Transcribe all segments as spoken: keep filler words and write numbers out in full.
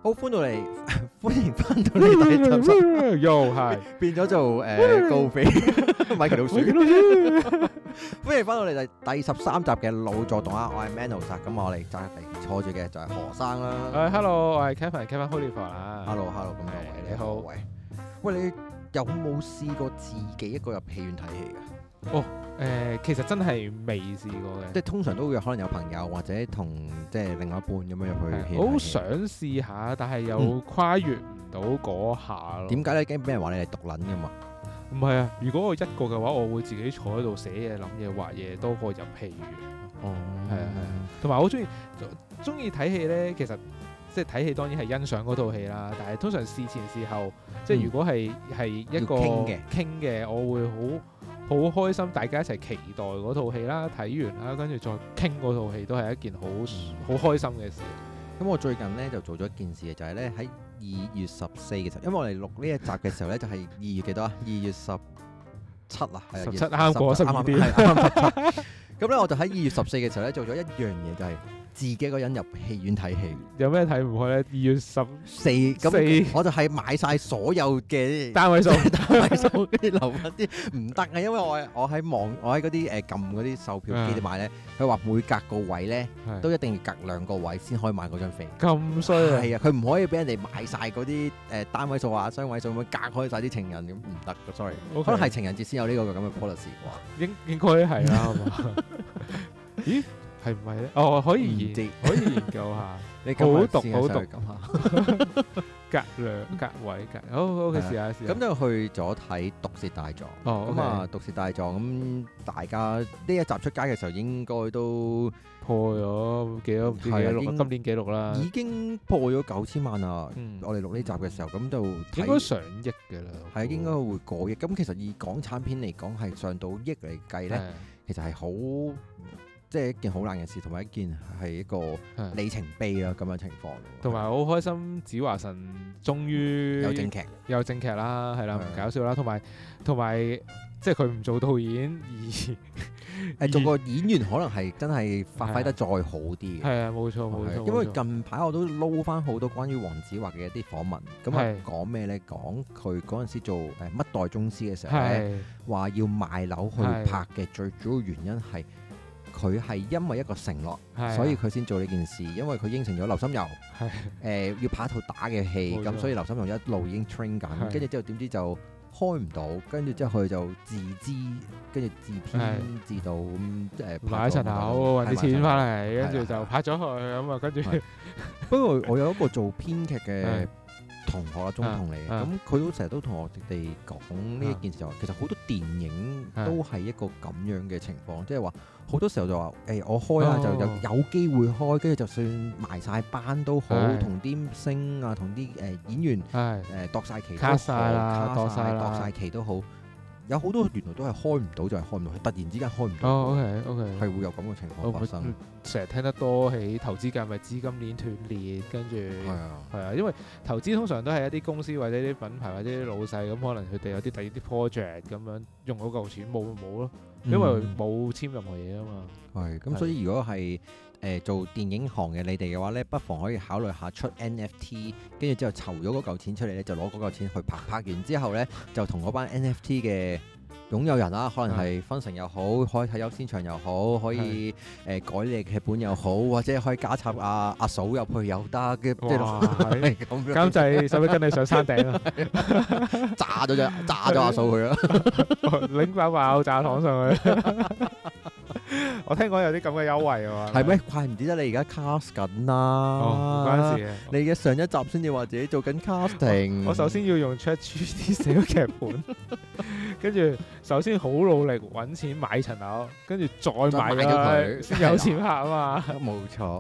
好歡到嚟，歡迎翻到嚟第十集， 又係變咗做誒高飛米奇老鼠，歡迎翻到嚟第第十三集嘅老作動啊！我係 Manos 啊，咁我哋隔離坐住嘅就係何生啦。 誒，Hello，我係 Kevin，Kevin Holyfield 啊。 Hello，Hello，咁各位你好。喂，喂，你有冇試過自己一個入戲院睇戲㗎？ 哦。誒、呃，其實真係未試過嘅， 即係通常都會可能有朋友或者同即係另外一半咁樣入去。 我好想試下，但係又跨越唔到嗰下咯。 點解咧？驚俾人話你係毒撚㗎嘛？ 唔係啊！如果我一個嘅話，我會自己坐喺度寫嘢、諗嘢、畫嘢，多過入戲院。 哦， 係啊係啊，同埋我好中意中意睇戲咧。其實即係睇戲當然係欣賞嗰套戲啦，但係通常事前事後，即係如果係係一個傾嘅傾嘅，我會好。好開心，大家一齊期待嗰套戲啦，睇完啦，跟住再傾嗰套戲，都係一件好好開心嘅事。 咁我最近咧就做咗一件事嘅，就係咧喺二月十四嘅時候，因為我哋錄呢一集嘅時候咧就係二月幾多啊？二月十七啊，係十七啱過十二點。 咁咧我就喺二月十四嘅時候咧做咗一樣嘢，就係自己一個人入戲院睇戲。 有咩睇唔開咧？二月十四咁，我就係買晒所有嘅單位數， 單位數跟住留翻啲唔得啊！因為我我喺網，我喺嗰啲誒撳嗰啲售票機度買咧，佢話每隔個位咧都一定要隔兩個位先可以買嗰張飛。 咁衰啊！ 係啊，佢唔可以俾人哋買晒嗰啲誒單位數啊、雙位數咁樣隔開晒啲情人咁唔得嘅，sorry。可能係情人節先有呢個咁嘅 policy 喎。 應應該係啦，係嘛？咦？係唔係咧？哦，可以研可以研究下。你好讀好讀咁下，隔兩隔位隔，好好嘅試下試下。 咁就去咗睇《毒舌大狀》。哦，咁啊，《毒舌大狀》咁大家呢一集出街嘅時候應該都破咗幾多？係啊，今年紀錄啦， 已經破咗九千萬啦。我哋錄呢集嘅時候，咁就應該上億嘅啦。係應該會過億。咁其實以港產片嚟講，係上到億嚟計咧，其實係好。即係一件好難嘅事，同埋一件係一個里程碑啦咁嘅情況。 同埋好開心，子華神終於有正劇， 有正劇啦，係啦，唔搞笑啦。同埋同埋，即係佢唔做導演而誒做個演員，可能係真係發揮得再好啲嘅。係啊， 冇錯冇錯。 因為近排我都撈翻好多關於黃子華嘅一啲訪問，咁啊講咩咧？講佢嗰陣時做誒乜代宗師嘅時候咧，話要賣樓去拍嘅最主要原因係。佢係因為一個承諾，啊、所以佢先做呢件事。因為佢應承咗劉心悠，誒、啊呃、要拍一套打嘅戲，咁錯所以劉心悠一路已經 train 緊。跟住之後點知就開唔到，跟住之後佢就自資，跟住自編、啊、自導咁誒買一層樓，揾啲錢翻嚟，跟住就拍咗佢咁啊。跟住不過我有一個做編劇嘅同學啊，中同嚟嘅，咁佢都成日都同我哋講呢一件事，就話其實好多電影都係一個咁樣嘅情況，即係話好多時候就話誒我開下就有有機會開，跟住就算埋晒班都好，同啲星啊，同啲誒演員誒度晒期都好，卡晒度晒期都好。有好多原來都係開唔到，就係開唔到，突然之間開唔到。 哦，OK OK，係會有咁嘅情況發生。 成日聽得多喺投資界咪資金鏈斷裂，跟住係啊，係啊，因為投資通常都係一啲公司或者啲品牌或者啲老細咁，可能佢哋有啲第二啲 project 咁樣用嗰嚿錢冇就冇咯，因為冇簽任何嘢啊嘛。係咁， 所以如果係誒做電影行嘅你哋嘅話咧，不妨可以考慮下出 N F T， 跟住之後籌咗嗰嚿錢出嚟咧，就攞嗰嚿錢去拍，拍完之後咧就同嗰班 N F T 嘅擁有人啦，可能係分成又好，可以睇優先場又好，可以誒、呃、改你嘅劇本又好，或者可以加插阿阿嫂入去又得嘅，即係咁樣。監製使唔使跟你上山頂啊？ 炸咗隻，炸咗阿嫂佢啦， 拎把爆炸糖上去。我聽講有啲咁嘅優惠啊嘛， 係咩？怪唔之得你而家 cast 緊啦， 唔關事嘅。 你嘅上一集先至話自己做緊 casting， 我首先要用 ChatGPT 寫個劇本，跟住首先好努力揾錢買層樓，跟住再買咗佢先有錢拍啊嘛。 冇錯。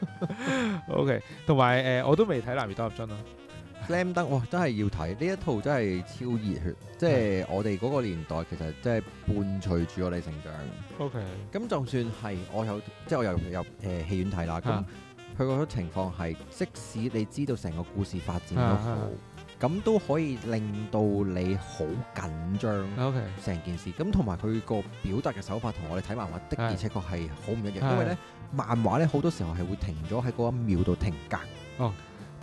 OK， 同埋誒，我都未睇《男兒當入樽》啊。 Slam Dunk，哇！真係要睇呢一套，真係超熱血。即係我哋嗰個年代，其實真係伴隨住我哋成長。 OK， 咁就算係我有，即係我有入誒戲院睇啦。咁佢嗰種情況係，即使你知道成個故事發展都好，咁都可以令到你好緊張。OK，成件事咁同埋佢個表達嘅手法，同我哋睇漫畫的而且確係好唔一樣。因為咧，漫畫咧好多時候係會停咗喺嗰一秒度停格。哦。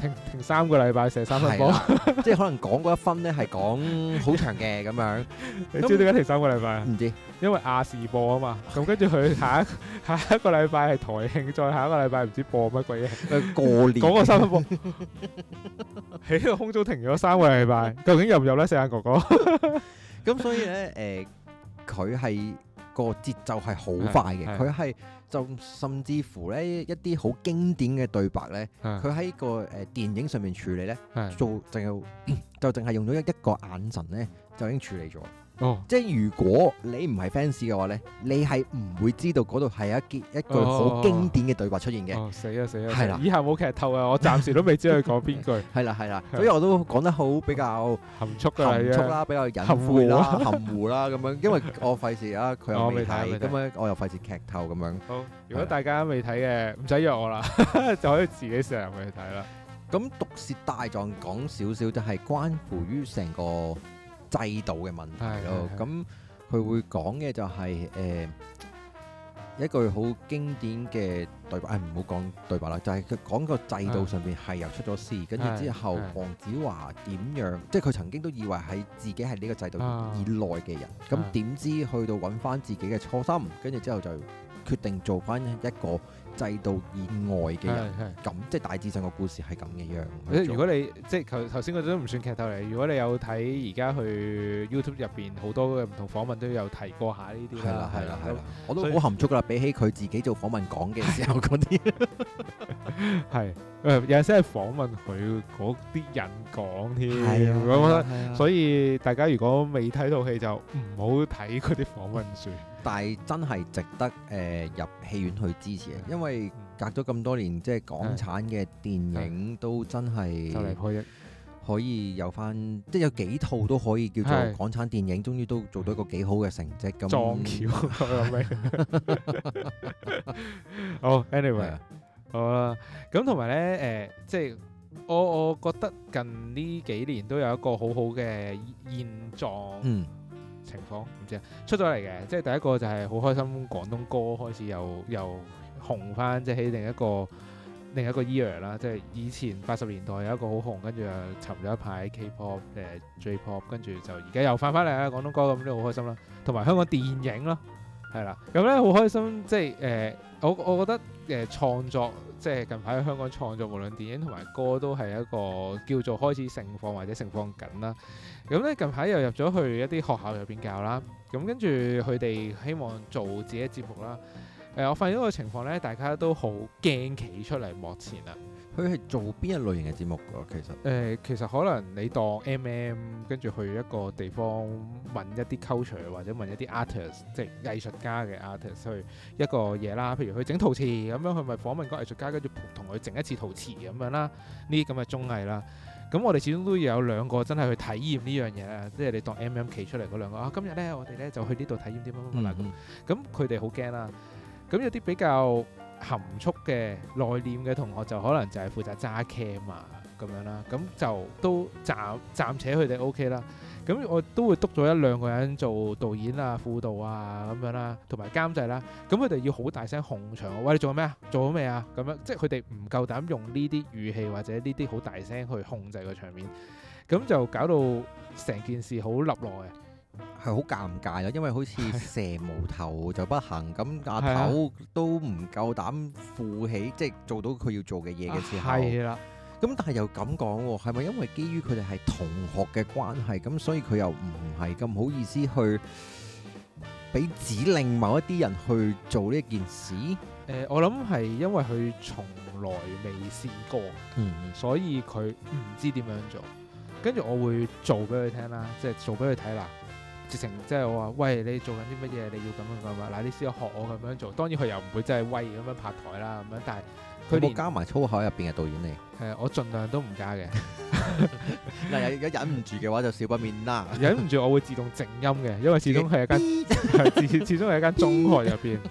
停停三個禮拜射三分波， 即係可能講嗰一分咧係講好長嘅咁樣。 你知點解停三個禮拜啊？ 唔知， 因為亞視播啊嘛。咁跟住佢下一下一個禮拜係台慶，再下一個禮拜唔知播乜鬼嘢。 過年講個三分波喺個空中停咗三個禮拜，究竟入唔入咧？四眼哥哥。 咁所以咧，誒，佢係個節奏係好快嘅，佢係。就甚至乎咧一啲好經典嘅對白咧，佢喺個誒電影上面處理咧，做淨係就淨係用咗一一個眼神咧，就已經處理咗。哦，即係如果你唔係 fans 嘅話咧，你係唔會知道嗰度係一一句好經典嘅對白出現嘅。 哦，死啊死啊！ 係啦， 以下冇劇透啊，我暫時都未知佢講邊句。 係啦係啦，所以我都講得好比較含蓄嘅， 含蓄啦，比較隱晦啦，含糊啦咁樣。因為我費事啊，佢又未睇，咁樣我又費事劇透咁樣。好， 如果大家未睇嘅，唔使約我啦，就可以自己上入去睇啦。咁毒舌大狀講少少，就係關乎於成個制度嘅問題咯。咁佢會講嘅就係誒一句好經典嘅對白，誒唔好講對白啦，就係佢講個制度上邊係又出咗事，跟住之後黃子華點樣，即係佢曾經都以為係自己係呢個制度以內嘅人，咁點知去到揾翻自己嘅初心，跟住之後就決定做翻一個制度以外嘅人，咁即係大致上個故事係咁嘅樣。 如果你即係頭頭先嗰啲都唔算劇透嚟，如果你有睇而家去 YouTube 入邊好多嘅唔同訪問都有提過下呢啲啦。係啦係啦係啦，我都好含蓄噶啦，比起佢自己做訪問講嘅時候嗰啲，係誒有陣時係訪問佢嗰啲人講添。係啊，我覺得所以大家如果未睇套戲就唔好睇嗰啲訪問書。 但係真係值得誒、呃、入戲院去支持嘅，因為隔咗咁多年，即係港產嘅電影都真係就嚟破億， 可以有翻，即係有幾套都可以叫做港產電影，終於都做到一個幾好嘅成績咁。 撞橋咁樣。好 ，anyway，好啦，咁同埋咧誒，即係我我覺得近呢幾年都有一個好好嘅現狀。嗯。情況唔知啊，出咗嚟嘅，即係第一個就係好開心，廣東歌開始又又紅翻，即係喺另一個另一個 year 啦，即係以前八十年代有一個好紅，跟住又沉咗一排 K-pop 誒 J-pop，跟住就而家又翻翻嚟啦，廣東歌咁都好開心啦，同埋香港電影咯，係啦，咁咧好開心，即係誒、呃、我我覺得誒、呃、創作。即係近排喺香港創作，無論電影同埋歌都係一個叫做開始盛放或者盛放緊啦。咁咧近排又入咗去一啲學校入邊教啦。咁跟住佢哋希望做自己嘅節目啦。誒、呃，我發現一個情況咧，大家都好驚企出嚟幕前啊。 佢係做邊一類型嘅節目㗎？其實誒、 呃，其實可能你當 M M 跟住去一個地方問一啲 culture 或者問一啲 artist，即係藝術家嘅 artist 去一個嘢啦。譬如去整陶瓷咁樣，佢咪訪問個藝術家，跟住同佢整一次陶瓷咁樣啦。呢啲咁嘅綜藝啦。咁我哋始終都要有兩個真係去體驗呢樣嘢啦。即係你當 M M 企出嚟嗰兩個啊，今日咧我哋咧就去呢度體驗啲乜乜乜啦。咁佢哋好驚啦。咁有啲比較含蓄嘅內斂嘅同學就可能就係負責揸 cam 啊咁樣啦，咁就都暫暫且佢哋 OK 啦。咁我都會督咗一兩個人做導演啊、輔導啊咁樣啦，同埋監製啦。咁佢哋要好大聲控場，喂，你做緊咩啊？做咗未啊？咁樣即係佢哋唔夠膽用呢啲語氣或者呢啲好大聲去控制個場面，咁就搞到成件事好立落嘅。 係好尷尬咯，因為好似蛇無頭就不行，咁阿頭都唔夠膽負起，即係做到佢要做嘅嘢嘅時候。係啦。咁但係又咁講喎，係咪因為基於佢哋係同學嘅關係，咁所以佢又唔係咁好意思去俾指令某一啲人去做呢件事？誒、 呃，我諗係因為佢從來未試過，嗯，所以佢唔知點樣做。跟住我會做俾佢聽啦，即係做俾佢睇啦。直情即係我話，喂，你做緊啲乜嘢？你要咁樣咁啊！嗱，你試下學我咁樣做。當然佢又唔會真係威咁樣拍台啦，咁樣。但係佢冇加埋粗口入邊嘅導演嚟。 係啊，我盡量都唔加嘅。 嗱，如果忍唔住嘅話，就少不免啦。 忍唔住，我會自動靜音嘅，因為始終係一間始始終係一間中學入邊。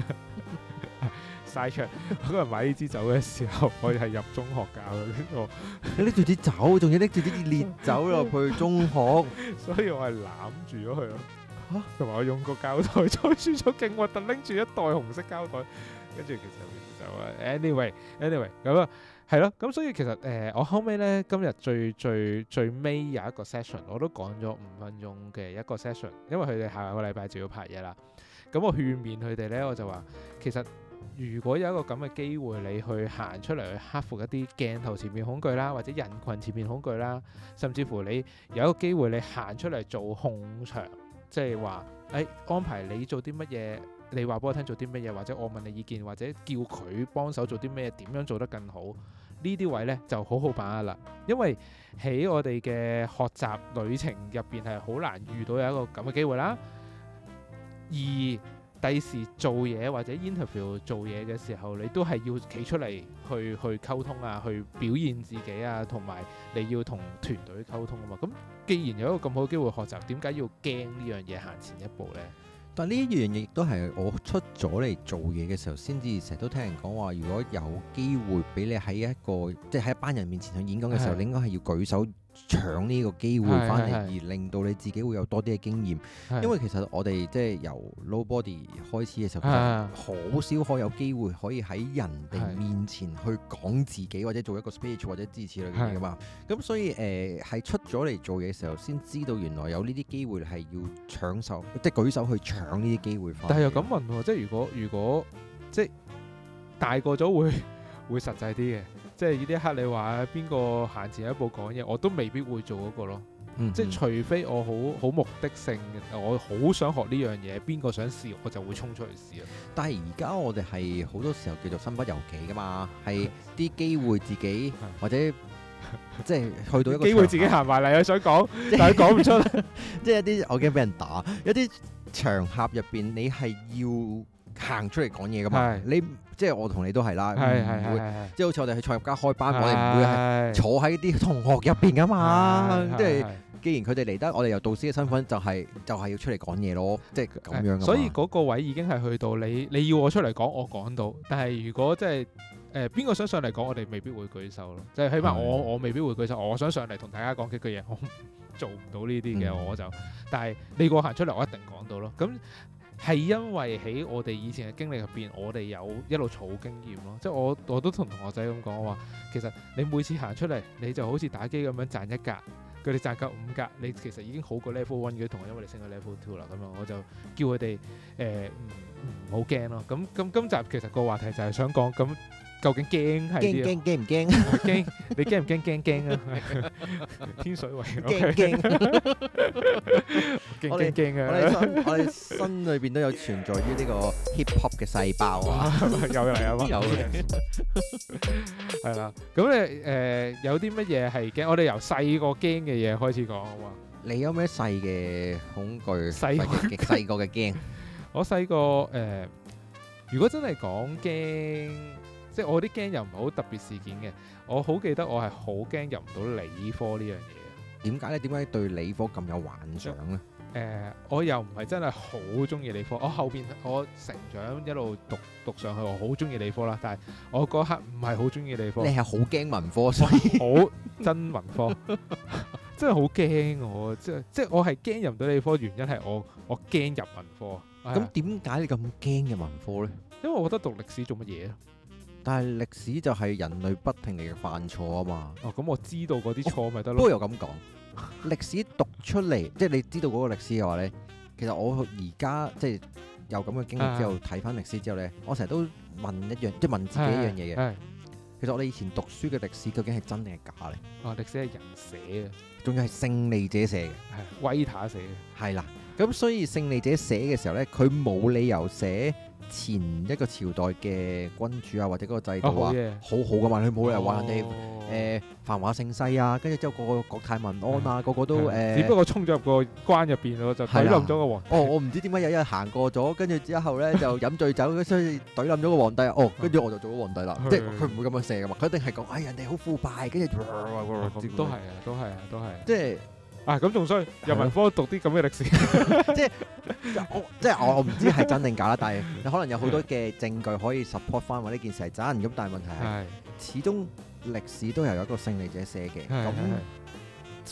晒出嗰日買呢支酒嘅時候，我哋係入中學教嘅呢個。 拎住啲酒，仲要拎住啲烈酒入去中學， 所以我係攬住咗佢咯。嚇！同埋我用個膠袋載住咗，勁核突，拎住一袋紅色膠袋，跟住其實就啊，anyway，anyway 咁啊， 係咯，咁所以其實誒、呃，我後尾咧今日最最最尾有一個 session，我都講咗五分鐘嘅一個 session，因為佢哋下個禮拜就要拍嘢啦。咁我勸勉佢哋咧，我就話其實如果有一個咁嘅機會，你去行出嚟去克服一啲鏡頭前面恐懼啦，或者人群前面恐懼啦，甚至乎你有一個機會你行出嚟做控場，即係話誒安排你做啲乜嘢。你話俾我聽做啲乜嘢，或者我問你意見，或者叫佢幫手做啲咩，點樣做得更好？呢啲位呢就好好把握啦。因為喺我哋嘅學習旅程入邊係好難遇到有一個咁嘅機會啦。而第時做嘢或者 interview 做嘢嘅時候，你都係要企出嚟去去溝通啊，去表現自己啊，同埋你要同團隊溝通啊嘛。咁既然有一個咁好嘅機會學習，點解要驚呢樣嘢行前一步呢？ 但呢一樣嘢亦都係我出咗嚟做嘢嘅時候，先至成日都聽人講話，如果有機會俾你喺一個即係喺一班人面前去演講嘅時候，你應該係要舉手搶呢個機會翻嚟，而令到你自己會有多啲嘅經驗。因為其實我哋即係由 Nobody 開始嘅時候，好少可有機會可以喺人哋面前去講自己，或者做一個 speech 或者支持類嘅嘢噶嘛。咁所以誒係、呃、出咗嚟做嘢嘅時候，先知道原來有呢啲機會係要搶手，即係舉手去搶呢啲機會翻。但係又咁問喎，即係如果如果即係大個咗會會實際啲嘅。即係呢一刻你話邊個行前一步講嘢，我都未必會做嗰個咯。嗯、哼即係除非我好好目的性，我好想學呢樣嘢，邊個想試我就會衝出去試啊。但係而家我哋係好多時候叫做身不由己噶嘛，係啲機會自己或者即係去到一個機會自己行埋嚟，我想講，但係講唔出。即係一啲我驚俾人打，一啲場合入邊你係要行出嚟講嘢噶嘛？你即係我同你都係啦，唔會即係好似我哋去創業家開班，我哋唔會係坐喺啲同學入邊噶嘛。即係既然佢哋嚟得，我哋由導師嘅身份就係就係要出嚟講嘢咯，即係咁樣。所以嗰個位已經係去到你你要我出嚟講，我講到。但係如果即係誒邊個想上嚟講，我哋未必會舉手咯。即係起碼我我未必會舉手。我想上嚟同大家講幾句嘢，我做唔到呢啲嘅，我就。但係你個行出嚟，我一定講到咯。咁。係因為喺我哋以前嘅經歷入邊，我哋有一路儲經驗咯。即係我我都同同學仔咁講話，其實你每次行出嚟，你就好似打機咁樣賺一格，佢哋賺夠五格，你其實已經好過 level one 嘅同學，因為你升咗 level two 啦。咁樣我就叫佢哋誒唔好驚咯。咁咁今集其實個話題就係想講咁。究竟驚係啲驚驚唔驚？驚你驚唔驚？驚驚啊！天水圍驚驚，驚驚驚啊！我哋心我哋心裏邊都有存在於呢個 hip hop 嘅細胞啊！有嚟啊嘛！有嘅，係啦。咁你誒有啲乜嘢係驚？我哋由細個驚嘅嘢開始講好嘛？你有咩細嘅恐懼？細嘅細個嘅驚。我細個誒，如果真係講驚。即係我啲驚又唔係好特別事件嘅，我好記得我係好驚入唔到理科呢樣嘢。點解咧？點解對理科咁有幻想咧？誒、呃，我又唔係真係好中意理科。我後邊我成長一路讀讀上去，我好中意理科啦。但係我嗰刻唔係好中意理科。你係好驚文科，所以好憎文科，真係好驚我。即係即係我係驚入唔到理科，原因係我我驚入文科。咁點解你咁驚入文科咧？因為我覺得讀歷史做乜嘢啊？但係歷史就係人類不停嚟犯錯啊嘛。哦，咁我知道嗰啲錯咪得咯。不過又咁講，歷史讀出嚟，即係你知道嗰個歷史嘅話咧，其實我而家即係有咁嘅經歷之後，睇翻歷史之後咧，我成日都問一樣，即係問自己一樣嘢嘅。其實我哋以前讀書嘅歷史究竟係真定係假咧？哦，歷史係人寫嘅，仲要係勝利者寫嘅，係威塔寫嘅。係啦，咁所以勝利者寫嘅時候咧，佢冇理由寫前一個朝代嘅君主啊，或者嗰個制度啊，好好噶嘛，佢冇理由話人哋誒繁華盛世啊，跟住之後個個國泰民安啊，個個都誒，只不過衝咗入個關入邊咯，就懟冧咗個皇帝。哦，我唔知點解有一日行過咗，跟住之後咧就飲醉酒，所以懟冧咗個皇帝。哦，跟住我就做咗皇帝啦。即係佢唔會咁樣寫噶嘛，佢一定係講，哎，人哋好腐敗，跟住都係啊，都係啊，都係。即係。啊，咁仲衰，人文科讀啲咁嘅歷史，即係我即係我我唔知係真定假啦，但係你可能有好多嘅證據可以 support 翻話呢件事係真，咁但係問題係始終歷史都係有一個勝利者寫嘅，咁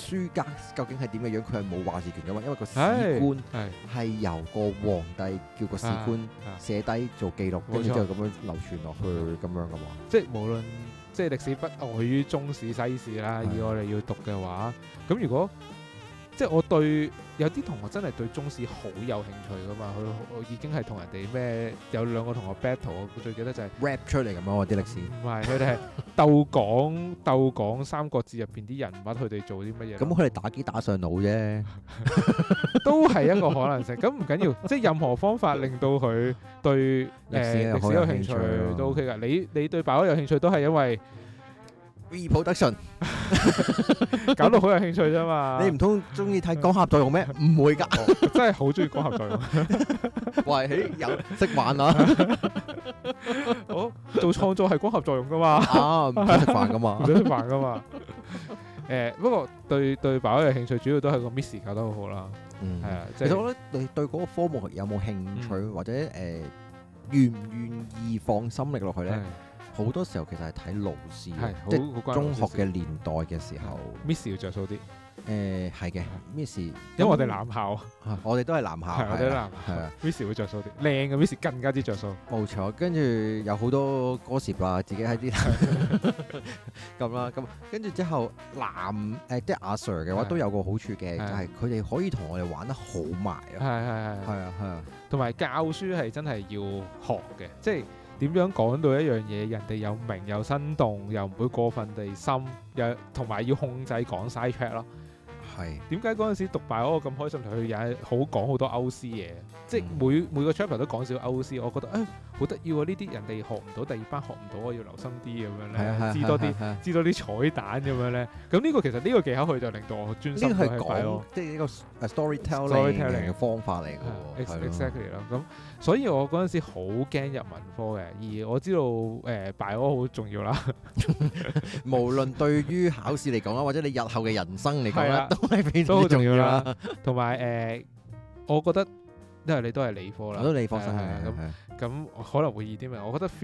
書家究竟係點嘅樣，佢係冇話事權嘅嘛，因為個史官係由個皇帝叫個史官寫低做記錄，跟住之後咁樣流傳落去咁樣噶嘛。 即係無論即係歷史不外於中史西史啦，以我哋要讀嘅話，咁如果即係我對有啲同學真係對中史好有興趣噶嘛，佢已經係同人哋咩有兩個同學 battle， 我最記得就係 rap 出嚟咁樣啲歷史。 唔係，佢哋係鬥講鬥講《三國志》入邊啲人物，佢哋做啲乜嘢？ 咁佢哋打機打上腦啫， 都係一個可能性。咁唔緊要，即係任何方法令到佢對誒歷史有興趣都 OK 㗎。你你對白有興趣都係因為 reproduction 搞到好有興趣啫嘛！ 你唔通中意睇光合作用咩？唔會㗎， 真係好中意光合作用。 喂，有識玩啊！ 我做創作係光合作用㗎嘛？ 啊，唔使食飯㗎嘛？ 唔使食飯㗎嘛？誒，不過對對白有興趣，主要都係個 Miss 搞得好好啦。嗯，係啊。 其實我覺得你對嗰個科目有冇興趣，或者誒願唔願意放心力落去咧？好多時候其實係睇老師，即係中學嘅年代嘅時候 ，Miss 要着數啲。 誒係嘅 ，Miss，因為我哋男校， 我哋都係男校， 係我哋男校，係啊，Miss 會着數啲，靚嘅 Miss 更加之着數。 冇錯，跟住有好多歌詞啦，自己喺啲咁啦，咁跟住之後男誒即係阿 Sir 嘅話都有個好處嘅，就係佢哋可以同我哋玩得好埋啊，係係係，係啊係啊，同埋教書係真係要學嘅，即係。點樣講到一樣嘢，人哋又明又生動，又唔會過分地深，又同埋要控制講 side track 咯。係點解嗰陣時讀bài我咁開心，同佢也好講好多歐詩嘢，即係每每個 chapter 都講少歐詩，我覺得誒好得意喎！呢啲人哋學唔到，第二班學唔到，我要留心啲咁樣咧，知多啲，知多啲彩蛋咁樣咧。咁呢個其實呢個技巧佢就令到我專心去睇咯，即係呢個 storytelling 嘅方法嚟嘅喎。 Exactly 咯，咁所以我嗰陣時好驚入文科嘅，而我知道誒bài我好重要啦。 無論對於考試嚟講啦，或者你日後嘅人生嚟講啦，都係非常好重要啦。 同埋誒，我覺得因為你都係理科啦， 我都理科生嘅， 咁咁可能會易啲咩？我覺得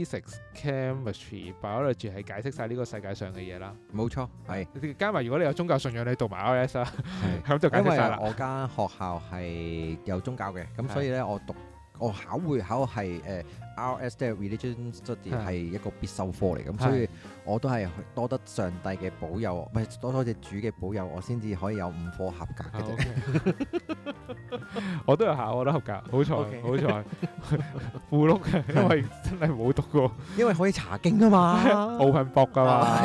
physics、chemistry、biology 係解釋晒呢個世界上嘅嘢啦。 冇錯，係加埋如果你有宗教信仰，你讀埋 R S 啦，咁就解釋晒啦。 因為我間學校係有宗教嘅，咁所以咧我讀。我考會考係誒 R S 即係 religion study 係一個必修科嚟，咁所以我都係多得上帝嘅保佑，唔係多多隻主嘅保佑，我先至可以有五科合格嘅啫。 我都有考，我都合格，好彩好彩，附錄嘅，因為真係冇讀過， 因為可以查經啊嘛 ，open book 噶嘛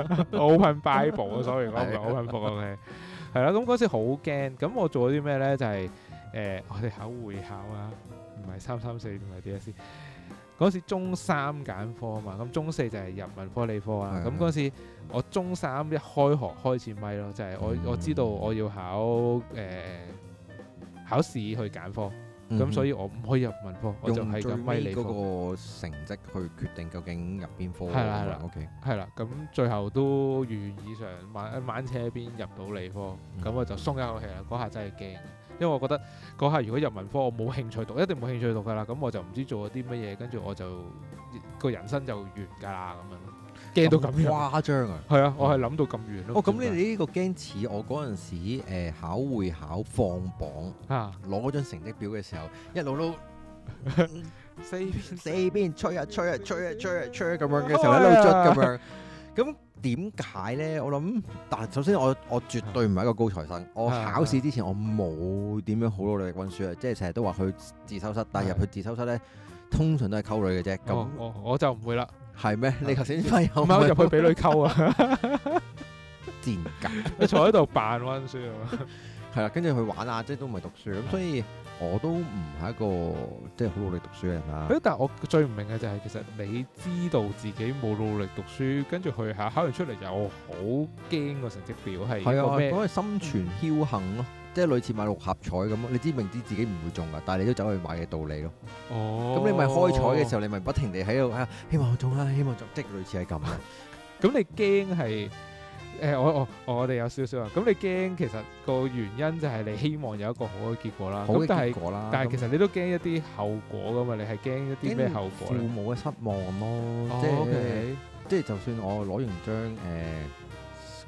，open Bible 啊，sorry 講唔係 open book OK，係啦，咁嗰時好驚，咁我做咗啲咩咧？就係誒我哋考會考啊。唔係三三四唔係 D S E 嗰時中三揀科啊嘛，咁中四就係入文科理科啦。咁嗰時我中三一開學開始咪咯，就係、是、我我知道我要考誒、呃、考試去揀科，咁、嗯、所以我唔可以入文科，我就係咁咪理科。用最尾嗰個成績去決定究竟入邊科。 係啦係啦 ，OK。 係啦，咁最後都如願以償，晚晚車邊入到理科，咁、嗯、我就鬆一口氣啦。嗰下真係驚。因為我覺得嗰下如果入文科我冇興趣讀，一定冇興趣讀㗎啦，咁我就唔知做咗啲乜嘢，跟住我就個人生就完㗎啦咁樣，驚到咁誇張啊！ 係啊，我係諗到咁遠咯。 哦，咁你哋呢個驚似我嗰陣時誒、呃、考會考放榜啊，攞嗰張成績表嘅時候，一路都四邊四邊吹啊吹啊吹啊吹啊吹咁樣嘅時候，一路捽咁樣，咁。點解咧？我諗，但係首先我我絕對唔係一個高材生。我考試之前我冇點樣好努力溫書啊，即係成日都話去自修室，但係入去自修室咧，通常都係溝女嘅啫。咁我我就唔會啦。 係咩？你頭先咪有冇入去俾女溝啊？ 賤格！ 你坐喺度扮溫書啊？ 係啦，跟住去玩啊，即係都唔係讀書咁，所以我都唔係一個即係好努力讀書嘅人啦。 誒，但係我最唔明嘅就係，其實你知道自己冇努力讀書，跟住去考，考完出嚟又好驚個成績表係係啊，嗰個心存僥倖咯，即係類似買六合彩咁咯。你知明知自己唔會中㗎，但係你都走去買嘅道理咯。哦，咁你咪開彩嘅時候，你咪不停地喺度啊，希望我中啦，希望中，即係類似係咁咯。 咁你驚係？誒、欸、我我我哋有少少啊，咁你驚其實個原因就係你希望有一個好嘅結果啦，咁但係但係其實你都驚一啲後果噶嘛，你係驚一啲咩後果咧？父母嘅失望咯，哦、即係、okay. 即係就算我攞完張誒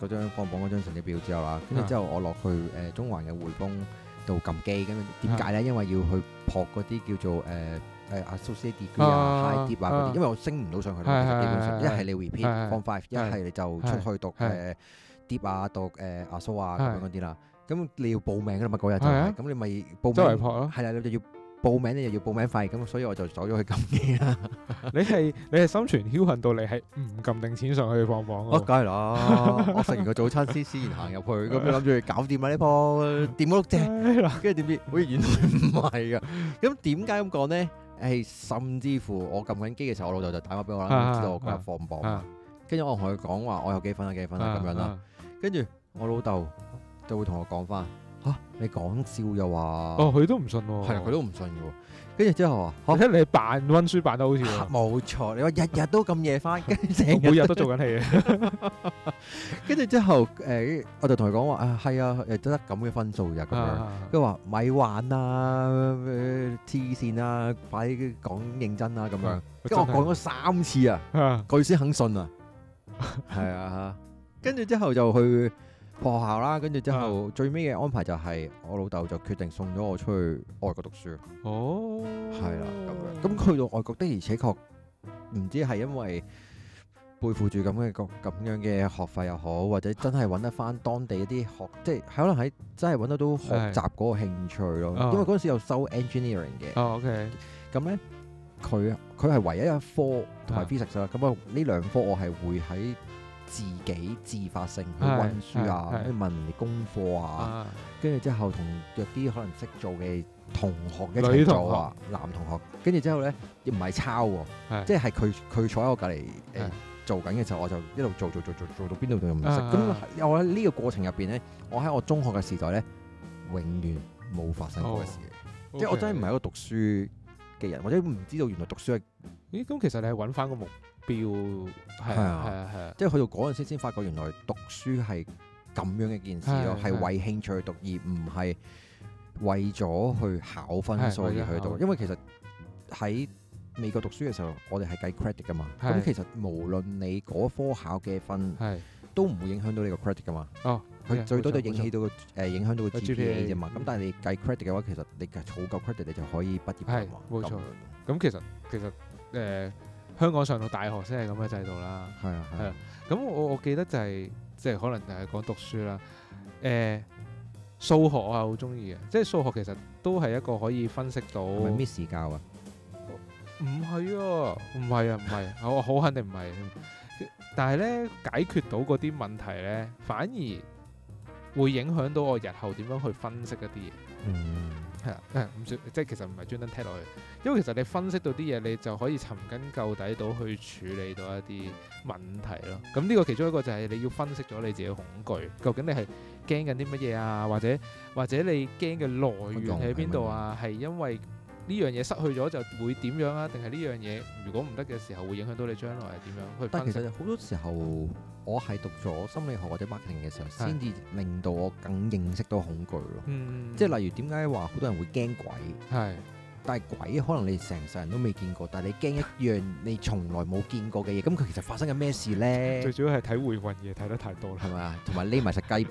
嗰張放榜嗰張成績表之後啦，跟住之後我落去誒、呃、中環嘅匯豐度撳機，跟住點解咧？因為要去撲嗰啲叫做誒誒、呃、associate degree 啊、high dip 啊嗰啲，啊、因為我升唔到上去，其實基本上一係你 repeat form five，一係你就出去讀誒 dip 啊、讀誒 asso 啊咁樣嗰啲啦。咁你要報名㗎啦嘛，嗰日就係、是，咁、啊、你咪報名，周圍撲咯，係啦，你就要報名，你又要報名費，咁所以我就走咗去撳機啦。你係你係心存僥倖到你係唔撳定錢上去放榜？我梗係啦，我食完個早餐先先然行入去，咁你諗住搞掂啦呢鋪掂嗰碌啫，跟住點知，喂原來唔係噶。咁點解咁講咧？誒，甚至乎我撳緊機嘅時候，我老豆就打電話俾我啦，知道我嗰日放榜，跟住我同佢講話，我有幾分啊幾分啊咁樣啦，跟住我老豆就會同我講翻。嚇！你講笑又話？哦，佢都唔信喎。係啊，佢都唔信嘅喎。跟住之後話，我睇你扮溫書扮得好似喎。冇錯，你話日日都咁夜翻，跟住成日每日都做緊戲。跟住之後，誒，我就同佢講話啊，係啊，誒，得咁嘅分數㗎咁樣。佢話咪玩啊，黐線啊，快啲講認真啊咁樣。跟住我講咗三次啊，佢先肯信啊。係啊，跟住之後就去學校啦，跟住之後、啊、最尾嘅安排就係我老豆就決定送咗我出去外國讀書。哦，係啦咁樣。咁去到外國的而且確唔知係因為背負住咁嘅個咁樣嘅學費又好，或者真係揾得翻當地一啲學，即係可能喺真係揾得到學習嗰個興趣咯。的因為嗰陣時有修 engineering 嘅。哦 OK。咁咧，佢佢係唯一一科同埋 physics 啦。咁啊呢兩科我係會喺自己自發性去溫書啊，去問人哋功課啊，跟住之後同約啲可能識做嘅同學一齊做啊，男同學，跟住之後咧唔係抄喎，即係佢佢坐喺我隔離誒做緊嘅時候，我就一路做做做做做到邊度都唔識。咁我喺呢個過程入邊咧，我喺我中學嘅時代咧，永遠冇發生過嘅事，即係我真係唔係一個讀書嘅人，或者唔知道原來讀書係。咦？咁其實你係揾翻個目標，係啊係啊係啊，即係去到嗰陣時先發覺原來讀書係咁樣嘅件事咯，係為興趣去讀，而唔係為咗去考分數而去讀。因為其實喺美國讀書嘅時候，我哋係計 credit 噶嘛，咁其實無論你嗰科考嘅分，都唔會影響到你個 credit 噶嘛。哦，佢最多就影響到個誒影響到個 G P A 啫嘛。咁但係你計 credit 嘅話，其實你儲夠 credit 你就可以畢業㗎嘛。冇錯。咁其實其實誒。香港上到大學先係咁嘅制度啦，係啊係啊。咁我我記得就係即係可能就係講讀書啦。誒、呃、數學我係好中意嘅，即係數學其實都係一個可以分析到。係咪 Miss 教啊？唔係啊，唔係啊，唔係。我好肯定唔係。但係咧解決到嗰啲問題咧，反而會影響到我日後點樣去分析一啲嘢。嗯，係啊，誒唔算，即係其實唔係專登踢落去。因為其實你分析到啲嘢，你就可以尋根究底到去處理到一啲問題咯。咁呢個其中一個就係你要分析咗你自己嘅恐懼，究竟你係驚緊啲乜嘢啊？或者或者你驚嘅來源喺邊度啊？係因為呢樣嘢失去咗就會點樣啊？定係呢樣嘢如果唔得嘅時候會影響到你將來係點樣去分析？但其實好多時候我係讀咗心理學或者 marketing 嘅時候，先至令到我更認識到恐懼咯。嗯，即係例如點解話好多人會驚鬼？係。但係鬼可能你成世人都未見過，但係你驚一樣你從來冇見過嘅嘢，咁佢其實發生緊咩事咧？最主要係睇回魂夜睇得太多啦，係咪啊？同埋匿埋食雞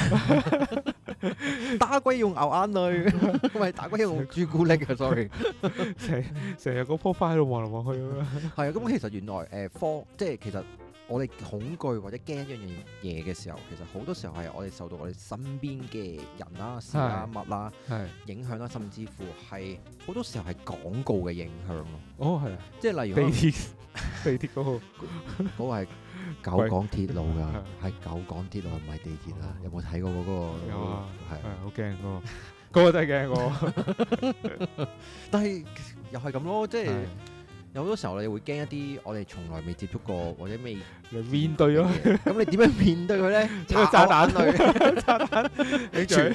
髀，打鬼用牛眼淚，唔係打鬼用朱古力啊 ！sorry，成成日個棵花喺度望嚟望去咁樣。係啊，咁其實原來誒、呃、科即係其實。我哋恐懼或者驚一樣嘢嘅時候，其實好多時候係我哋受到我哋身邊嘅人啦、事啦、物啦影響啦，甚至乎係好多時候係廣告嘅影響咯。哦，係啊，即係例如地鐵，地鐵嗰個嗰個係九廣鐵路㗎，係九廣鐵路唔係地鐵啊！有冇睇過嗰個？有啊，係好驚嗰個，嗰個真係驚喎。但係又係咁咯，即係。有好多時候你會驚一啲我哋從來未接觸過或者未面對咗，咁你點樣面對佢咧？炸彈類，炸彈，你嘴，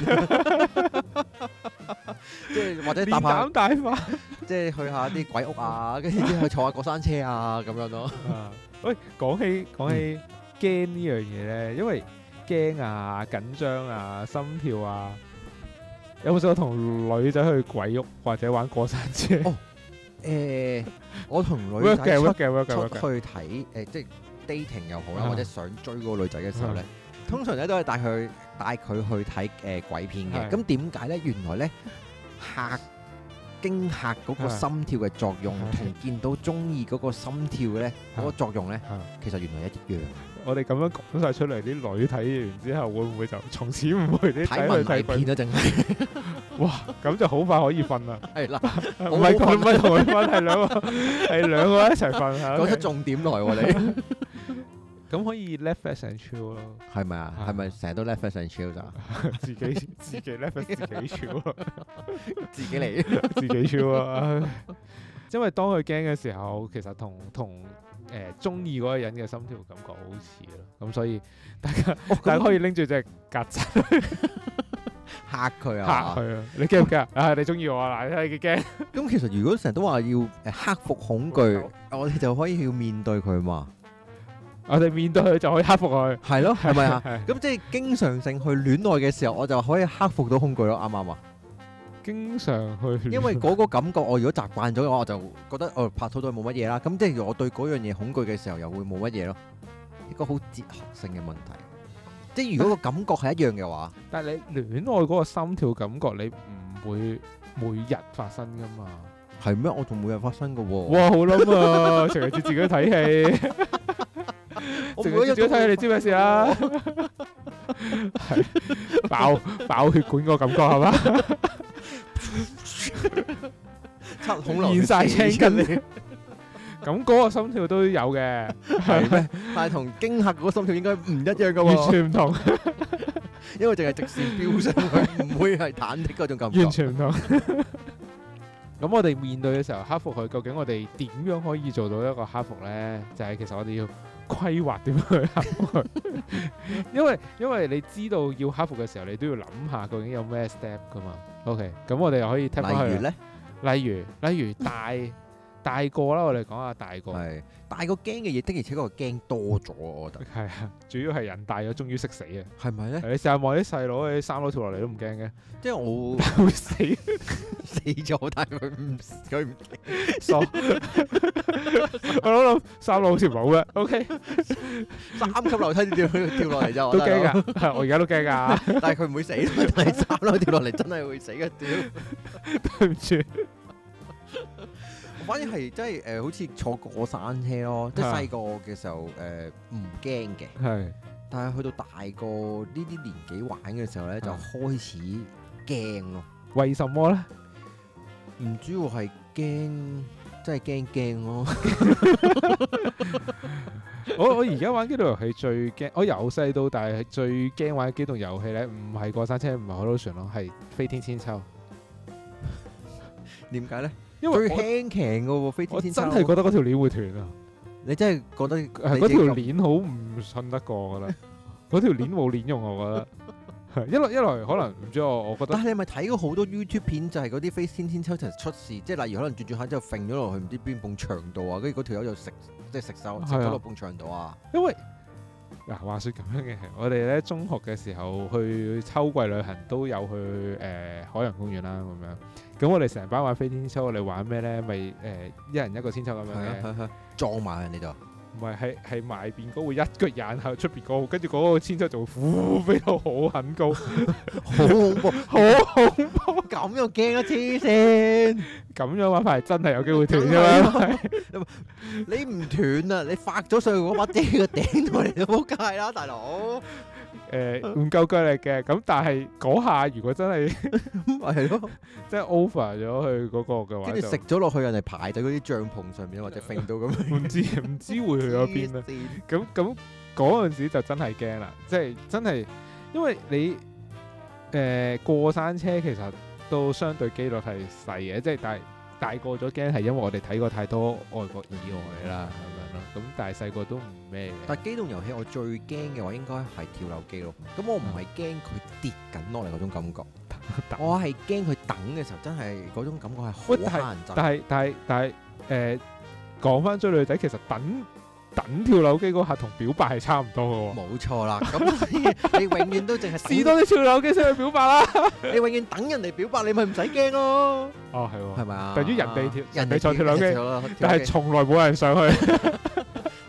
即係或者搭下大法，即係去下啲鬼屋啊，跟住之後坐下過山車啊咁樣咯。喂，講起講起驚呢樣嘢咧，因為驚啊、緊張啊、心跳啊，有冇試過同女仔去鬼屋或者玩過山車？哦誒，我同女仔出出去睇誒，即係 dating 又好啦，或者想追嗰個女仔嘅時候咧， 通常咧都係帶佢帶佢去睇誒、呃、鬼片嘅。咁點解咧？原來咧嚇驚嚇嗰個心跳嘅作用，同見到中意嗰個心跳咧嗰個作用咧，其實原來一樣。 我哋咁樣講晒出嚟，啲女睇完之後會唔會就從此唔會啲睇文藝片啊？淨係哇，咁就好快可以瞓啦。係啦， 唔係佢唔係同佢瞓，係兩個係兩個一齊瞓嚇。 講出重點來喎你。 咁可以 Netflix and chill 咯。係咪啊？係咪成日都 Netflix and chill 咋？ 自己自己 Netflix 自己 chill 咯， 自己嚟自己 chill 啊！因為當佢驚嘅時候，其實同同。誒中意嗰個人嘅心跳感覺好似咯，咁所以大家、哦、大家可以拎住隻曱甴嚇佢啊！ 嚇佢啊！你驚唔驚啊？你中意我啊？嗱，你睇你幾驚？ 咁其實如果成日都話要誒克服恐懼，我哋就可以要面對佢嘛。 我哋面對佢就可以克服佢， 係咯，係咪啊？咁即係經常性去戀愛嘅時候，我就可以克服到恐懼咯，啱唔啱啊？經常去，因為嗰個感覺，我如果習慣咗嘅話，我就覺得哦拍拖都係冇乜嘢啦。咁即係我對嗰樣嘢恐懼嘅時候，又會冇乜嘢咯。一個好哲學性嘅問題。即係如果個感覺係一樣嘅話，但係你戀愛嗰個心跳感覺，你唔會每日發生噶嘛？係咩？我仲每日發生噶喎。哇，好諗啊！成日自己睇戲，成日自己睇戲，你知咩事啊？係爆爆血管個感覺係嘛？七孔流晒青筋你，咁嗰個心跳都有嘅，係咩？但係同驚嚇嗰個心跳應該唔一樣噶喎，完全唔同，因為淨係直線飆上去，唔會係忐忑嗰種感覺，完全唔同。咁我哋面對嘅時候克服佢，究竟我哋點樣可以做到一個克服咧？就係其實我哋要規劃點樣去克服佢，因為因為你知道要克服嘅時候，你都要諗下究竟有咩 step 噶嘛。OK，咁我哋又可以聽翻去。例如咧，例如例如大大個啦，我哋講下大個。係大個驚嘅嘢，的而且確驚多咗，我覺得。係啊，主要係人大咗，終於識死啊。係咪咧？你成日望啲細佬喺三樓跳落嚟都唔驚嘅。即係我會死死咗，但係佢唔佢唔傻。我諗諗三樓好似冇嘅。OK，三級樓梯跳跳落嚟就都驚㗎。我而家都驚㗎，但係佢唔會死。但係三樓跳落嚟真係會死嘅。屌，對唔住。反而係真係誒，好似坐過山車咯，即係細個嘅時候誒唔驚嘅，係。但係去到大個呢啲年紀玩嘅時候咧，就開始驚咯。為什麼咧？唔主要係驚，真係驚驚咯。我我而家玩機動遊戲最驚，我由細到大係最驚玩機動遊戲咧，唔係過山車，唔係海盜船咯，係飛天千秋。點解咧？因為最輕騎嘅喎，飛天千秋。我真係覺得嗰條鏈會斷啊！你真係覺得係嗰條鏈好唔信得過，我覺得嗰條鏈冇鏈用，我覺得。一來一來可能唔知我，我覺得。但係你係咪睇過好多 YouTube 片，就係嗰啲飛天千秋就出事，即係例如可能轉轉下之後揈咗落去唔知邊埲牆度啊，跟住嗰條友就食即係食手食咗落埲牆度啊。因為嗱話説咁樣嘅，我哋咧中學嘅時候去秋季旅行都有去誒、呃、海洋公園啦咁樣。咁我哋成班玩飛天千秋，我哋玩咩咧？咪誒、呃、一人一個千秋咁樣嘅，啊啊啊、撞埋人哋度。唔係，係係埋邊嗰會一腳引喺出邊嗰個，跟住嗰個千秋就會呼飛到好很高，好恐怖，好恐怖，咁又驚啊！黐線，咁樣玩法係真係有機會斷㗎嘛？你唔斷啊！你發咗上去嗰把遮個頂度嚟都冇計啦，大佬。誒唔夠腳力嘅，咁但係嗰下如果真係係咯，即係 over 咗佢嗰個嘅話，跟住食咗落去人哋排喺嗰啲帳篷上面或者揈到咁樣，唔知唔知會去咗邊啊？咁咁嗰陣時就真係驚啦，即係真係，因為你誒過山車其實都相對機率係細嘅，即係但係大個咗驚係因為我哋睇過太多外國意外啦。咁但係細個都唔咩嘅。但係機動遊戲我最驚嘅話應該係跳樓機咯。咁我唔係驚佢跌緊落嚟嗰種感覺，我係驚佢等嘅時候真係嗰種感覺係好乞人憎。但係但係但係誒講翻追女仔，其實等等跳樓機嗰下同表白係差唔多嘅喎。冇錯啦，咁所以你永遠都淨係試多啲跳樓機先去表白啦。你永遠等人哋表白，你咪唔使驚咯。哦，係喎，係咪啊？等於人哋跳，人哋坐跳樓機，但係從來冇人上去。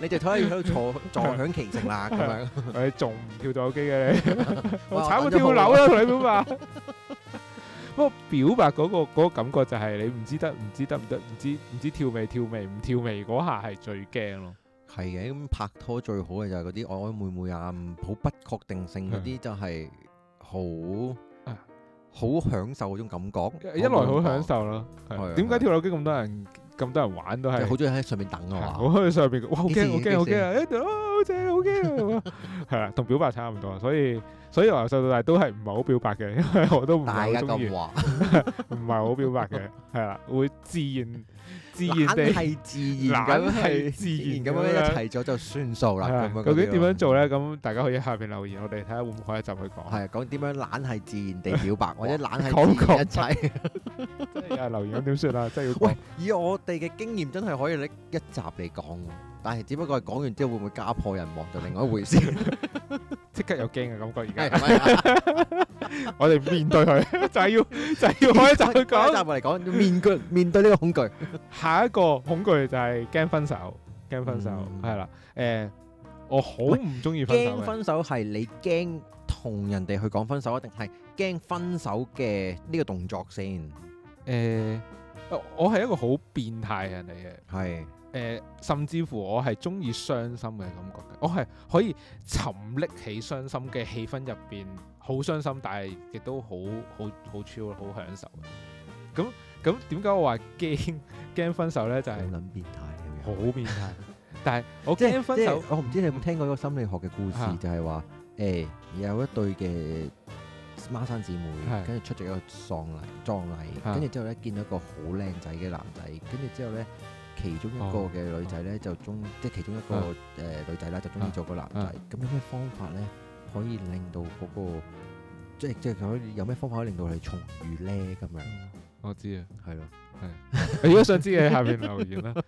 你就睇喺度坐坐享其成啦咁樣。 你仲唔跳咗機嘅你？我慘過跳樓啦，同你表白。不過表白嗰個嗰個感覺就係你唔知得唔知得唔得唔知唔知跳未跳未唔跳未嗰下係最驚咯。 係嘅，咁拍拖最好嘅就係嗰啲曖曖昧昧啊，好不確定性嗰啲就係好好享受嗰種感覺。一來好享受咯，點解跳樓機咁多人咁多人玩都係好中意喺上面等啊嘛？我喺上邊，哇好驚好驚好驚啊！一度啊好正好驚啊！係啦，同表白差唔多，所以。所以由細到大都係唔係好表白嘅，因為我都唔係好中意，唔係好表白嘅，係啦，會自然自然地係自然咁係自然咁樣一齊咗就算數啦。究竟點樣做咧？咁大家可以喺下邊留言，我哋睇下會唔會開一集去講。係講點樣懶係自然地表白，或者懶係自然一齊。真係有人留言咁點算啊？真係要喂，以我哋嘅經驗真係可以拎一集嚟講。但係只不過係講完之後會唔會家破人亡就另外一回事，即刻有驚嘅感覺而家。我哋面對佢就係要就係要開一集去講，一集嚟講面對面對呢個恐懼。下一個恐懼就係驚分手，驚分手係啦。誒，我好唔中意分手。驚分手係你驚同人哋去講分手，定係驚分手嘅呢個動作先？誒，我係一個好變態嘅人嚟嘅，係。誒、呃，甚至乎我係中意傷心嘅感覺嘅，我係可以沉溺起傷心嘅氣氛入邊，好傷心，但係亦都好好好 chill，好享受。咁咁點解我話驚驚分手咧？就係好撚變態，好變態。但係我驚分手，我唔知你有冇聽過一個心理學嘅故事，啊、就係話誒有一對嘅孖生姊妹，跟住出席一個喪禮葬禮，跟住之後咧見到一個好靚仔嘅男仔，跟住之後咧。其中一個嘅女仔咧就中，即係其中一個誒女仔啦，就中意咗個男仔。咁有咩方法咧可以令到嗰個，即係即係可以有咩方法可以令到你重遇咧？咁樣我知啊，係咯，係。如果想知嘅喺下邊留言啦。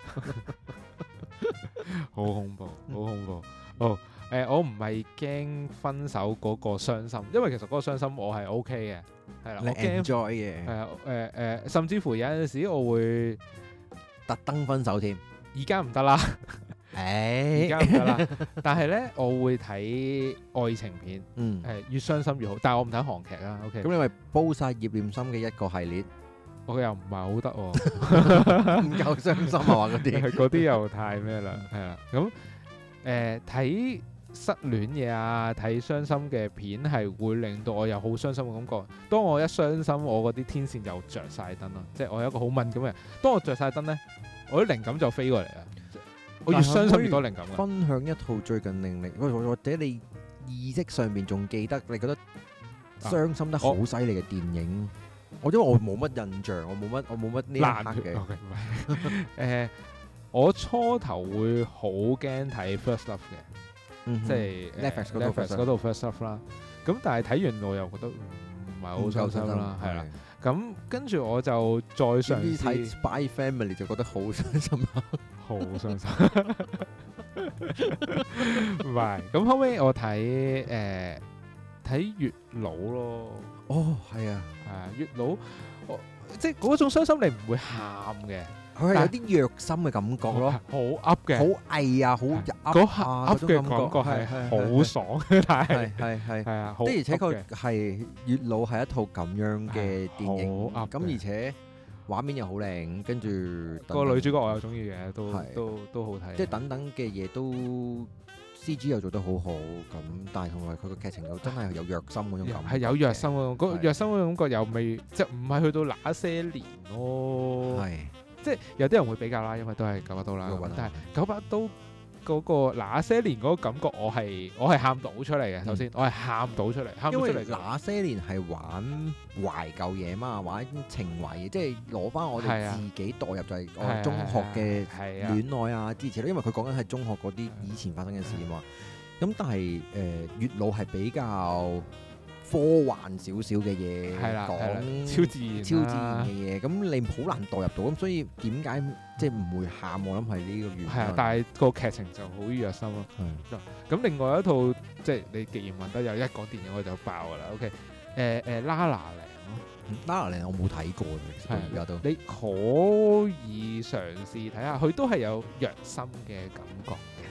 好恐怖，好恐怖。哦，誒，我唔係驚分手嗰個傷心，因為其實嗰個傷心我係 OK 嘅，係啦，我驚 enjoy 嘅，係啊，誒誒，甚至乎有陣時我會。特登分手添，而家唔得啦，誒，而家唔得啦。但係咧，我會睇愛情片，嗯，係越傷心越好。但係我唔睇韓劇啦。OK，咁你咪煲晒葉念琛嘅一個系列，我又唔係好得喎，唔夠傷心啊嘛嗰啲，嗰啲又太咩啦，係啦。咁誒睇失戀嘢啊，睇傷心嘅片係會令到我有好傷心嘅感覺。當我一傷心，我嗰啲天線就着晒燈咯，即係我有一個好敏感嘅人。當我着晒燈咧，我啲靈感就飛過嚟啦。我越傷心越多靈感。分享一套最近令你或者你意識上面仲記得你覺得傷心得好犀利嘅電影。啊、我因為我冇乜印象，我冇乜我冇乜呢一刻嘅。誒、呃，我初頭會好驚睇 First Love 嘅。嗯、即係 Netflix 嗰度 First Love 啦，咁但係睇完我又覺得唔係好傷心啦，係啦，咁跟住我就再嘗試睇 Spy Family 就覺得好傷心啦，好傷心，唔係，咁後尾我睇誒睇月老咯，哦係啊，係啊月老，即係嗰種傷心你唔會喊嘅。佢係有啲虐心嘅感覺咯，好噏嘅，好翳啊，好噏噏嘅感覺係好爽嘅，但係係係係啊，的而且確係月老係一套咁樣嘅電影，咁而且畫面又好靚，跟住個女主角我又中意嘅，都都都好睇，即係等等嘅嘢都 C G 又做得好好，咁但係同埋佢個劇情又真係有虐心嗰種感覺，係有虐心嗰種，嗰虐心嗰種感覺又未即係唔係去到那些年咯，係。即係有啲人會比較啦，因為都係九把刀啦。但係九把刀嗰個那些年嗰個感覺我，我係我係喊到出嚟嘅。首先，我係喊到出嚟，喊到出嚟。因為那些年係玩懷舊嘢嘛，玩情懷嘢，即係攞翻我哋自己代入，就係我中學嘅戀愛啊之類。因為佢講緊係中學嗰啲以前發生嘅事啊嘛。咁、嗯、但係誒、呃、月老係比較科幻少少嘅嘢，講超自然、超自然嘅嘢，咁你好難代入到，咁所以點解即係唔會喊？我諗係呢個原因。係啊，但係個劇情就好虐心咯。係。咁另外一套即係你既然問得有一講電影我就爆㗎啦。OK，誒誒La La Land咯，La La Land我冇睇過，其實而家都。你可以嘗試睇下，佢都係有虐心嘅感覺。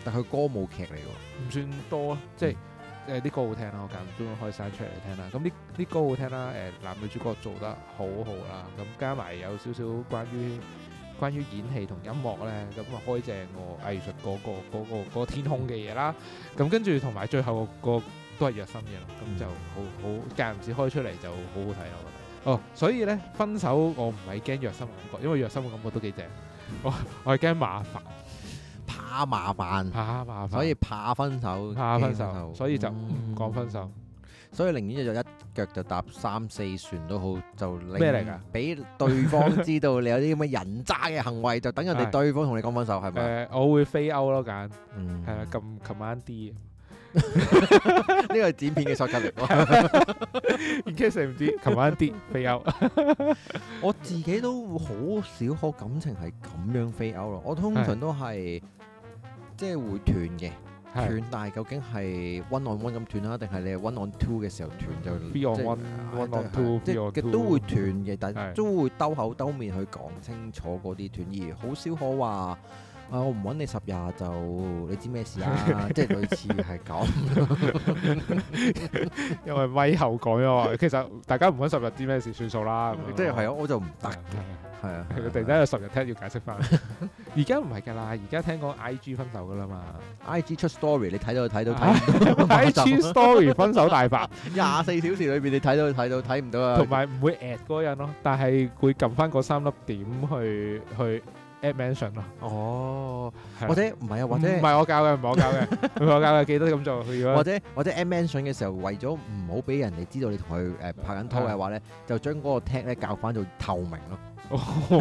但佢歌舞劇嚟喎， 唔算多，即係誒啲歌好聽啦，我間唔中開山出嚟聽啦。咁啲啲歌好聽啦，誒男女主角做得好好啦，咁加埋有少少關於關於演戲同音樂咧，咁啊開正個藝術嗰個嗰個嗰個天空嘅嘢啦。咁跟住同埋最後個都係虐心嘅咯，咁就好好間唔時開出嚟就好好睇咯，我覺得。哦，所以咧分手我唔係驚虐心嘅感覺，因為虐心嘅感覺都幾正。我我係驚麻煩。 怕麻煩， 怕麻煩， 所以怕分手， 怕分手，所以就唔講分手。 所以寧願就一腳就踏三四船都好，就咩嚟㗎？ 俾對方知道你有啲咁嘅人渣嘅行為，就等人哋對方同你講分手，係咪？ 誒，我會飛歐咯，揀， 嗯， 係啊，撳 Command D。 呢個係剪片嘅 shortcut 嚟喎。 in case 唔知 Command D 飛歐。 我自己都好少可感情係咁樣飛歐咯，我通常都係。即係會斷嘅，斷，但係究竟係 one on one 咁斷啦，定係你係 one on two 嘅時候斷就 three on one，one on two， 即係都會斷嘅，但係都會兜口兜面去講清楚嗰啲斷，而好少可話啊我唔揾你十日就你知咩事啊，即係類似係咁。 因為咪後講咗話，其實大家唔揾十日知咩事算數啦， 即係係啊，我就唔得嘅。係啊， 佢突然間有十日聽要解釋翻。而家唔係㗎啦，而家聽講 I G 分手㗎啦嘛。 I G 出 story 你睇到睇到睇唔到。 I G story 分手大白， 廿四小時裏邊你睇到睇到睇唔到啊。 同埋唔會 at 嗰個人咯，但係會撳翻嗰三粒點去去 add mention 咯。 哦，或者唔係啊，或者唔係我教嘅，唔係我教嘅，唔係我教嘅，記得咁做。 或者或者 add mention 嘅時候，為咗唔好俾人哋知道你同佢誒拍緊拖嘅話咧，就將嗰個 tag 咧校翻做透明咯。唔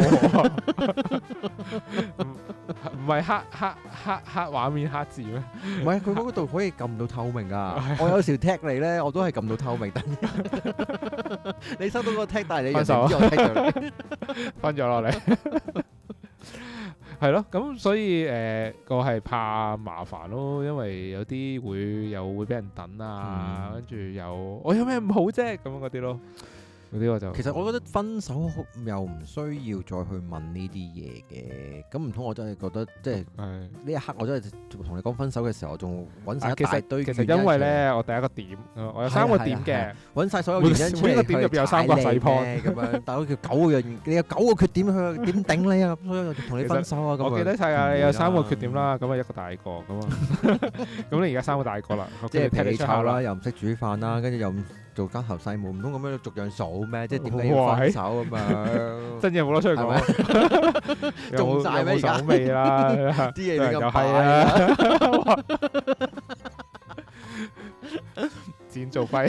唔係黑黑黑黑畫面黑字咩？ 唔係，佢嗰度可以撳到透明噶。我有時 tag 你咧，我都係撳到透明。但你收到個 tag，但係你又唔知我 tag 咗你， 分咗落嚟。係咯，咁所以誒，我係怕麻煩咯，因為有啲會又會俾人等啊，跟住又我有咩唔好啫，咁樣嗰啲咯。嗰啲我就其實我覺得分手又唔需要再去問呢啲嘢嘅，咁唔通我真係覺得即係呢一刻我真係同你講分手嘅時候，我仲揾曬一大堆。 其實因為咧，我第一個點，我有三個點嘅， 揾曬所有原因出嚟， 每個點入邊有三個細 point 咁樣，但係佢叫九個樣，你有九個缺點，佢點頂你啊？所以我同你分手啊！咁我記得晒啊，你有三個缺點啦，咁啊一個大個咁啊，咁你而家三個大個啦，即係脾氣差啦，又唔識煮飯啦，跟住又唔做家頭細務，唔通咁樣逐樣數咩？即係點解要分手咁樣？真嘢冇得出去講，中曬咩而家？手尾啦，啲嘢你咁快啊！ 剪做廢，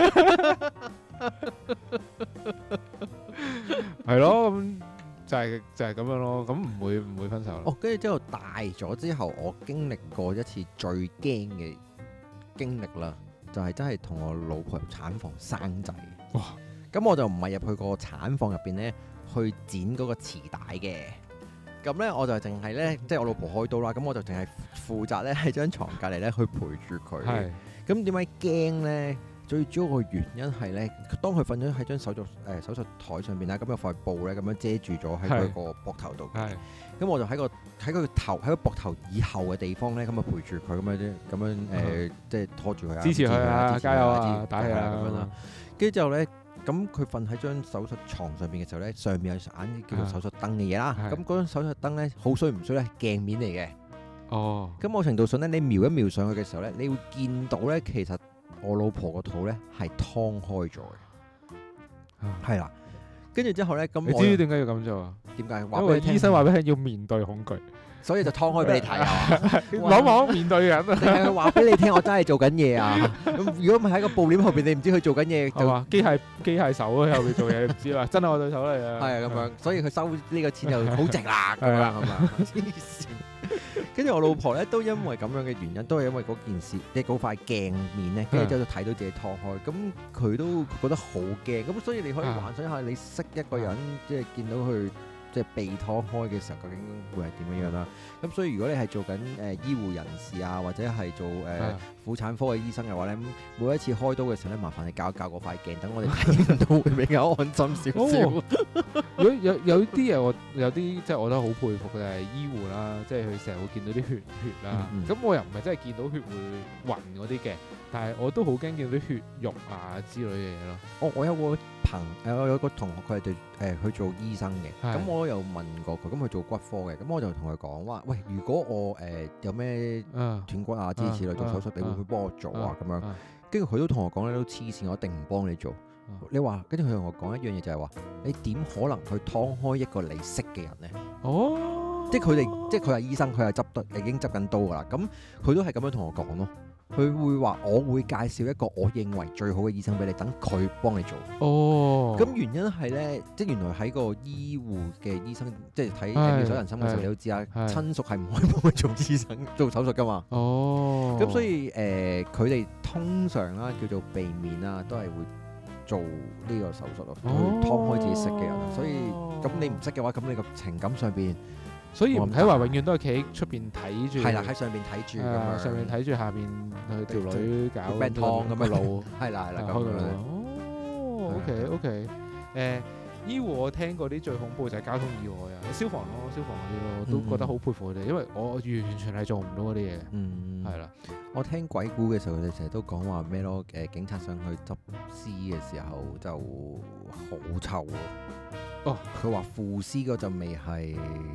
係咯，咁就係就係咁樣咯。咁唔會唔會分手咯？ 哦，跟住之後大咗之後，我經歷過一次最驚嘅經歷啦。就係真係同我老婆入產房生仔，哇！咁我就唔係入去個產房入邊咧，去剪嗰個臍帶嘅。咁咧我就淨係咧，即係我老婆開刀啦，咁我就淨係負責咧喺張床隔離咧去陪住佢。係。咁點解驚咧？最主要個原因係咧，當佢瞓咗喺張手術誒、呃、手術台上邊啦，咁有塊布咧咁樣遮住咗喺佢個膊頭度。係。咁我就喺個喺佢個頭喺個膊頭以後嘅地方咧，咁啊陪住佢咁樣啫，咁樣誒、呃、即係拖住佢啊， 支持佢啊，加油啊， 打氣啊咁樣啦。跟住之後咧，咁佢瞓喺張手術床上邊嘅時候咧，上面有盞叫做手術燈嘅嘢啦。咁嗰張手術燈咧，好衰唔衰咧？係鏡面嚟嘅。哦。咁某程度上咧，你瞄一瞄上去嘅時候咧，你會見到咧，其實我老婆個肚咧係劏開咗嘅。係啦。跟住之後咧，咁你知唔知點解要咁做啊？ 點解？ 因為醫生話俾你聽要面對恐懼， 所以就劏開俾你睇啊！ 往往面對人啊！ 定係佢話俾你聽，我真係做緊嘢啊！咁如果唔係喺個布簾後邊，你唔知佢做緊嘢， 係嘛？機械機械手喺後邊做嘢，唔知啊！真係我對手嚟啊！ 係啊，咁樣，所以佢收呢個錢就好值啦，咁樣係嘛？黐線！跟住我老婆咧，都因為咁樣嘅原因，都係因為嗰件事，即係嗰塊鏡面咧，跟住之後就睇到自己劏開，咁佢都覺得好驚，咁所以你可以幻想一下，你識一個人，即係見到佢即係被劏開嘅時候，究竟會係點樣樣啦？咁所以如果你係做緊誒、呃、醫護人士啊，或者係做誒、呃、婦產科嘅醫生嘅話咧，每一次開刀嘅時候咧，麻煩你校一校嗰塊鏡，等我哋睇到會比較安心少少。 哦、有有有啲嘢我有啲即係我覺得好佩服嘅就係醫護啦，即係佢成日會見到啲血血啦。咁、嗯嗯、我又唔係真係見到血會暈嗰啲嘅，但係我都好驚見到啲血肉啊之類嘅嘢咯。 哦，我有個朋誒，我有個同學佢係對誒去做醫生嘅，咁我有問過佢，咁佢做骨科嘅，咁我就同佢講話，喂，如果我誒、呃、有咩斷骨啊諸如此類做手術，你會唔會幫我做啊？咁樣，跟住佢都同我講咧，都黐線，我一定唔幫你做。你話，跟住佢同我講一樣嘢就係話，你點可能去劏開一個你識嘅人咧？哦，即係佢哋，即係佢係醫生，佢係執得已經執緊刀噶啦，咁佢都係咁樣同我講咯。佢會話：我會介紹一個我認為最好嘅醫生俾你，等佢幫你做。哦，咁原因係咧，即係原來喺個醫護嘅醫生，即係睇妙手仁心嘅時候，你都知啊，親屬係唔可以幫佢做醫生做手術噶嘛。哦，咁所以誒，佢、呃、哋通常啦叫做避免啦，都係會做呢個手術咯，哦、去劏開自己識嘅人。所以咁你唔識嘅話，咁你個情感上邊。 所以唔睇話，永遠都係企喺出邊睇住。 係啦，喺上邊睇住咁樣。上面睇住下邊佢條女搞病湯咁嘅路。係啦係啦，咁樣。 哦 ，OK OK。誒，醫護我聽過啲最恐怖就係交通意外啊，消防咯，消防嗰啲咯，都覺得好佩服佢哋，因為我完全係做唔到嗰啲嘢。嗯，係啦。我聽鬼故嘅時候，佢哋成日都講話咩咯？誒，警察上去執屍嘅時候就好臭喎。哦，佢話腐屍嗰陣味係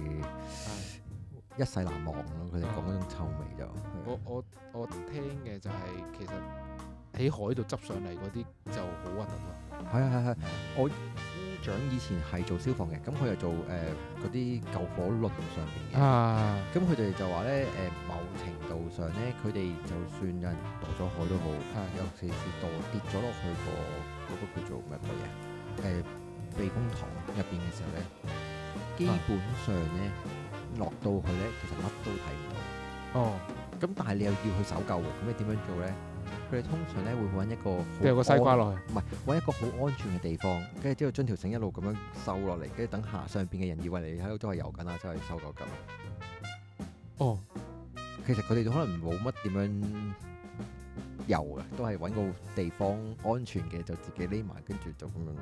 一世難忘咯，佢哋講嗰種臭味就。 我我我聽嘅就係、是、其實喺海度執上嚟嗰啲就好核突咯。 係啊係係，我姑丈以前係做消防嘅，咁佢又做誒嗰啲救火輪上邊嘅。啊，咁佢哋就話咧誒，某程度上咧，佢哋就算有人墮咗海都好，啊、尤其是墮跌咗落去、個嗰、個叫做乜鬼嘢誒？避風塘入邊嘅時候咧，基本上咧落到去咧，其實乜都睇唔到。哦，咁但係你又要去搜救喎，咁你點樣做咧？佢哋通常咧會揾一個掉個西瓜落去， 唔係揾一個好安全嘅地方，跟住之後將條繩一路咁樣收落嚟，跟住等下上邊嘅人以為你喺度都係游緊啦，即係搜救緊。哦，其實佢哋可能冇乜點樣游嘅，都係揾個地方安全嘅就自己匿埋，跟住就咁樣。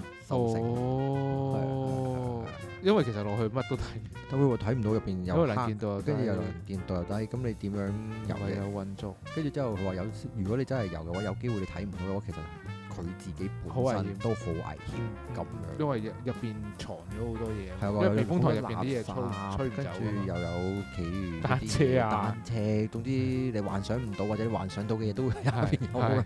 哦，因為其實落去乜都睇唔到， 都會睇唔到入邊有黑，跟住又能見到又低，咁你點樣游嘅？ 有運作， 跟住之後佢話有，如果你真係游嘅話，有機會你睇唔到嘅話，其實佢自己本身都好危險咁樣。 因為入入邊藏咗好多嘢， 係因為避風塘入邊啲嘢吹唔走， 跟住又有其餘單車啊、 單車，總之你幻想唔到或者你幻想到嘅嘢都會喺入邊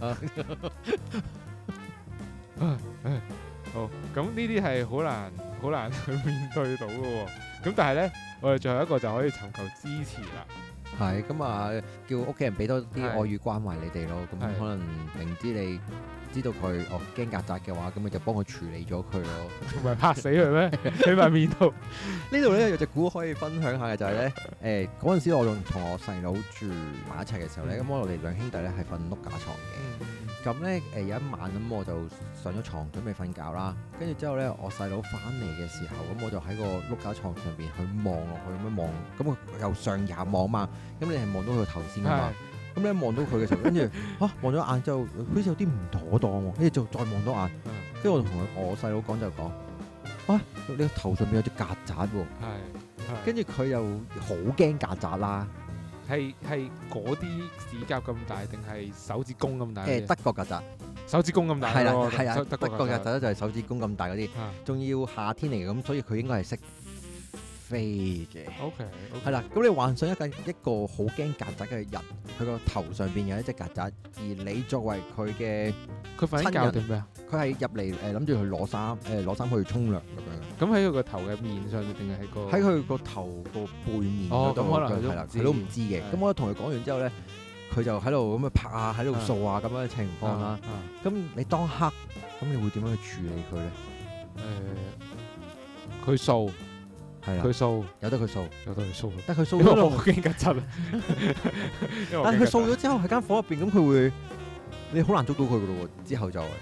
有啦。 好，咁呢啲係好難好難去面對到嘅喎。咁但係咧，我哋最後一個就可以尋求支持啦。 係，咁啊，叫屋企人俾多啲愛與關懷你哋咯。咁可能明知你知道佢哦驚曱甴嘅話，咁你就幫佢處理咗佢咯。 唔係拍死佢咩？喺塊面度。 呢度咧有隻故可以分享下嘅就係、是、咧，誒嗰陣時我仲同我細佬住埋一齊嘅時候咧，咁、嗯、我哋兩兄弟咧係瞓碌架床嘅。嗯咁咧誒有一晚咁我就上咗床準備瞓覺啦，跟住之後咧我細佬翻嚟嘅時候，咁我就喺個碌架床上邊去望落去咁樣望，咁我由上廿望嘛，咁你係望到佢個頭先噶嘛，咁你望到佢嘅時候，跟住嚇望咗眼之後，好似有啲唔妥當喎，跟住就再望多眼，跟住我同佢我細佬講就講，啊你個頭上邊有隻曱甴喎，跟住佢又好驚曱甴啦。 係係嗰啲指甲咁大定係手指公咁大？ 誒德國曱甴， 手指公咁大。 係啦係啊，德國曱甴就係手指公咁大嗰啲，仲要夏天嚟嘅，咁所以佢應該係識飛嘅。OK，係啦，咁你幻想一個一個好驚曱甴嘅人，佢個頭上邊有一隻曱甴，而你作為佢嘅佢瞓緊覺定咩啊？ 佢係入嚟誒諗住去攞衫誒攞衫去沖涼咁樣。 咁喺佢個頭嘅面上定係喺個？ 喺佢個頭個背面嗰度，可能係啦，佢都唔知嘅。咁我同佢講完之後咧，佢就喺度咁樣拍啊，喺度掃啊咁樣嘅情況啦。咁你當刻咁你會點樣去處理佢咧？ 誒，佢掃係啦，佢掃有得佢掃， 有得佢掃， 但係佢掃咗落， 好驚曱甴啊！ 但係佢掃咗之後喺間房入邊，咁佢會你好難捉到佢噶咯喎。之後就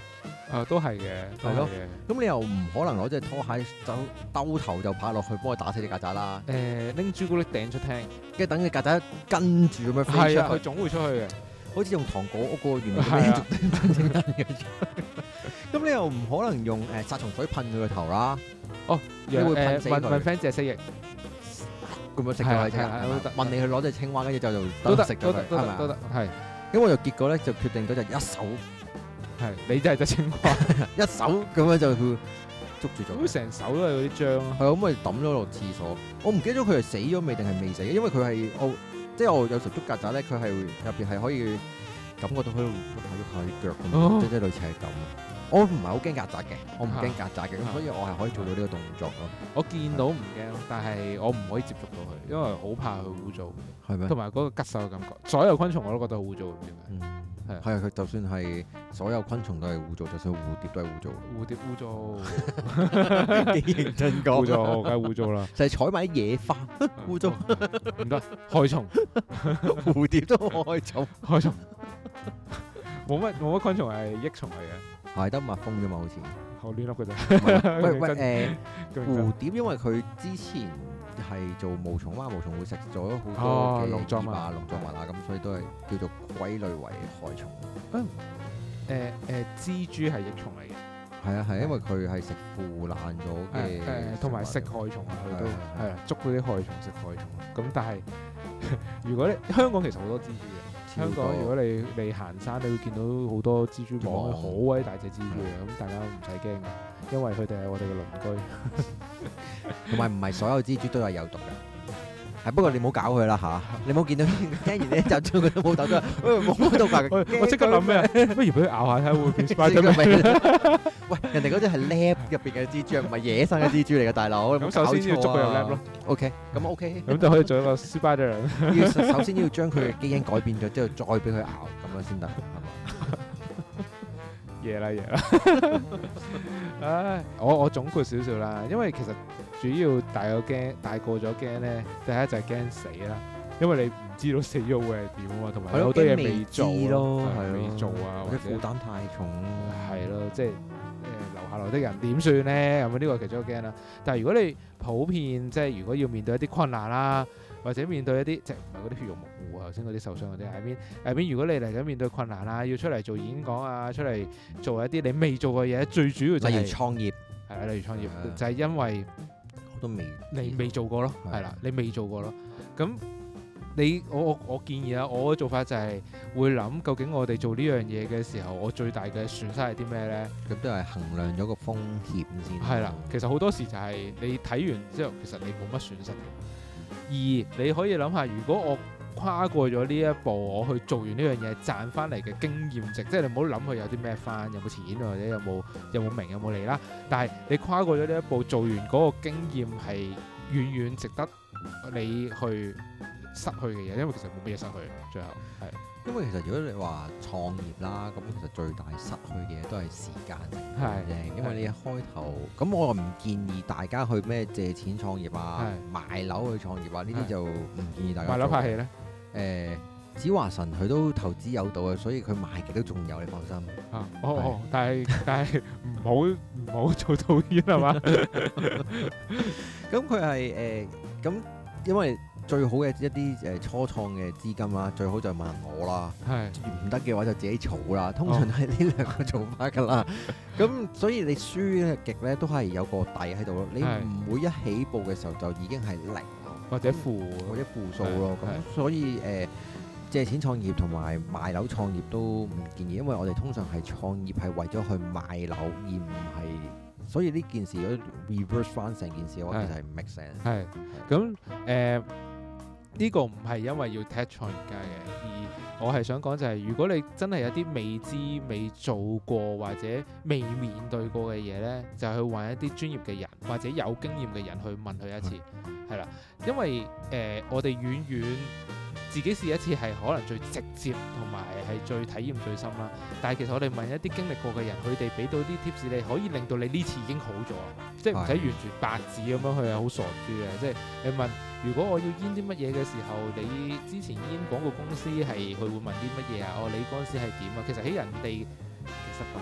啊，都係嘅，係咯。 咁你又唔可能攞隻拖鞋走兜頭就拍落去幫佢打死啲曱甴啦。 誒，拎朱古力掟出廳， 跟住等隻曱甴跟住咁樣飛出去。 係啊，佢總會出去嘅。好似用糖果屋個原理咁樣叮叮嘅。咁你又唔可能用誒殺蟲水噴佢個頭啦。哦，你會噴死佢。問 friend 借蜥蜴。咁樣食咗係啫，問你去攞隻青蛙，跟住就就都得食咗佢，係咪啊？都得，係。咁我就結果咧就決定咗就一手，係你真係隻青蛙，一手咁樣就捉住咗。咁成手都係嗰啲漿啊！係啊，咁咪抌咗落廁所。我唔記得咗佢係死咗未定係未死，因為佢係我即係我有時捉曱甴咧，佢係入邊係可以感覺到佢喺度喐下喐下啲腳咁，即係類似係咁。我唔係好驚曱甴嘅，我唔驚曱甴嘅，咁所以我係可以做到呢個動作咯。我見到唔驚，但係我唔可以接觸到佢，因為好怕佢污糟。係咩？同埋嗰個吉手嘅感覺，所有昆蟲我都覺得好污糟，唔知點解。係係啊，佢就算係所有昆蟲都係污糟，就算蝴蝶都係污糟。蝴蝶污糟，幾認真講。污糟，梗係污糟啦。就係採埋啲野花，污糟。唔得，害蟲。蝴蝶都害蟲，害蟲。冇乜冇乜昆蟲係益蟲嚟嘅。係得蜜蜂啫嘛，好似好亂笠嘅啫。喂喂誒，蝴蝶因為佢之前係做毛蟲啦，毛蟲會食咗好多嘅農作物啊、農作物啊，咁所以都係叫做歸類為害蟲。誒誒誒，蜘蛛係益蟲嚟嘅。係啊係，因為佢係食腐爛咗嘅，誒同埋食害蟲啊，佢都係啊，捉嗰啲害蟲食害蟲。咁但係如果你香港其實好多蜘蛛嘅。香港如果你你行山，你會見到好多蜘蛛網，好鬼大隻蜘蛛嘅，咁大家唔使驚嘅，因為佢哋係我哋嘅鄰居。同埋唔係所有蜘蛛都係有毒嘅，係不過你唔好搞佢啦嚇，你唔好見到聽完呢一集之後佢都冇毒，喂冇毒㗎，我即刻諗咩？不如俾佢咬下睇下會唔會變 Spiderman？喂，人哋嗰隻係 lab 入邊嘅蜘蛛，唔係野生嘅蜘蛛嚟嘅，大佬。咁首先要捉佢入 lab 咯。OK，咁 OK。咁就可以做一個 Spider。要首先要將佢嘅基因改變咗之後，再俾佢咬，咁樣先得，係嘛？夜啦夜啦。唉，我我總括少少啦，因為其實主要大個驚，大個咗驚咧，第一就係驚死啦，因為你唔知道死咗會係點啊嘛，同埋有好多嘢未做咯，係未做啊，或者負擔太重，係咯，即係。留下來的人點算咧？咁呢個其中一個驚啦。但係如果你普遍即係如果要面對一啲困難啦，或者面對一啲即係唔係嗰啲血肉模糊頭先嗰啲受傷嗰啲，係邊係邊？如果你嚟緊面對困難啦，要出嚟做演講啊，出嚟做一啲你未做嘅嘢，最主要就係例如創業，係啊，例如創業的就係因為我都未你未做過咯，係啦，你未做過咯，咁。你我我我建議啊，我嘅做法就係會諗究竟我哋做呢樣嘢嘅時候，我最大嘅損失係啲咩咧？咁都係衡量咗個風險先。係啦，其實好多時就係你睇完之後，其實你冇乜損失嘅。二，你可以諗下，如果我跨過咗呢一步，我去做完呢樣嘢賺翻嚟嘅經驗值，即係你唔好諗佢有啲咩翻，有冇錢或者有冇有冇名有冇利啦。但係你跨過咗呢一步，做完嗰個經驗係遠遠值得你去失去嘅嘢，因為其實冇乜嘢失去，最後係。因為其實如果你話創業啦，咁其實最大失去嘅嘢都係時間嘅啫。因為你一開頭，咁我唔建議大家去咩借錢創業啊、賣樓去創業啊，呢啲就唔建議大家。賣樓拍戲咧？誒，子華神佢都投資有道嘅，所以佢賣極都仲有，你放心。啊，哦哦，但係但係唔好唔好做導演係嘛？咁佢係誒咁，因為。最好嘅一啲誒初創嘅資金啦，最好就問我啦。係唔得嘅話就自己儲啦。通常係呢兩個做法㗎啦。咁所以你輸極咧都係有個底喺度咯。你唔會一起步嘅時候就已經係零或者負或者負數咯。咁所以誒、呃、借錢創業同埋賣樓創業都唔建議，因為我哋通常係創業係為咗去賣樓，而唔係。所以呢件事如果 reverse 翻成件事嘅話，其實係唔 make sense。係咁誒。呢個唔係因為要踢創業家嘅，而我係想講就係，如果你真係有啲未知、未做過或者未面對過嘅嘢呢，就去揾一啲專業嘅人或者有經驗嘅人去問佢一次，係啦、嗯，因為誒、呃、我哋遠遠自己試一次係可能最直接同埋係最體驗最深啦。但係其實我哋問一啲經歷過嘅人，佢哋俾到啲 tips，你可以令到你呢次已經好咗，即係唔使完全白紙咁樣去係好傻豬嘅。即係你問，如果我要煙啲乜嘢嘅時候，你之前煙廣告公司係佢會問啲乜嘢啊？哦，你嗰陣時係點啊？其實喺人哋其實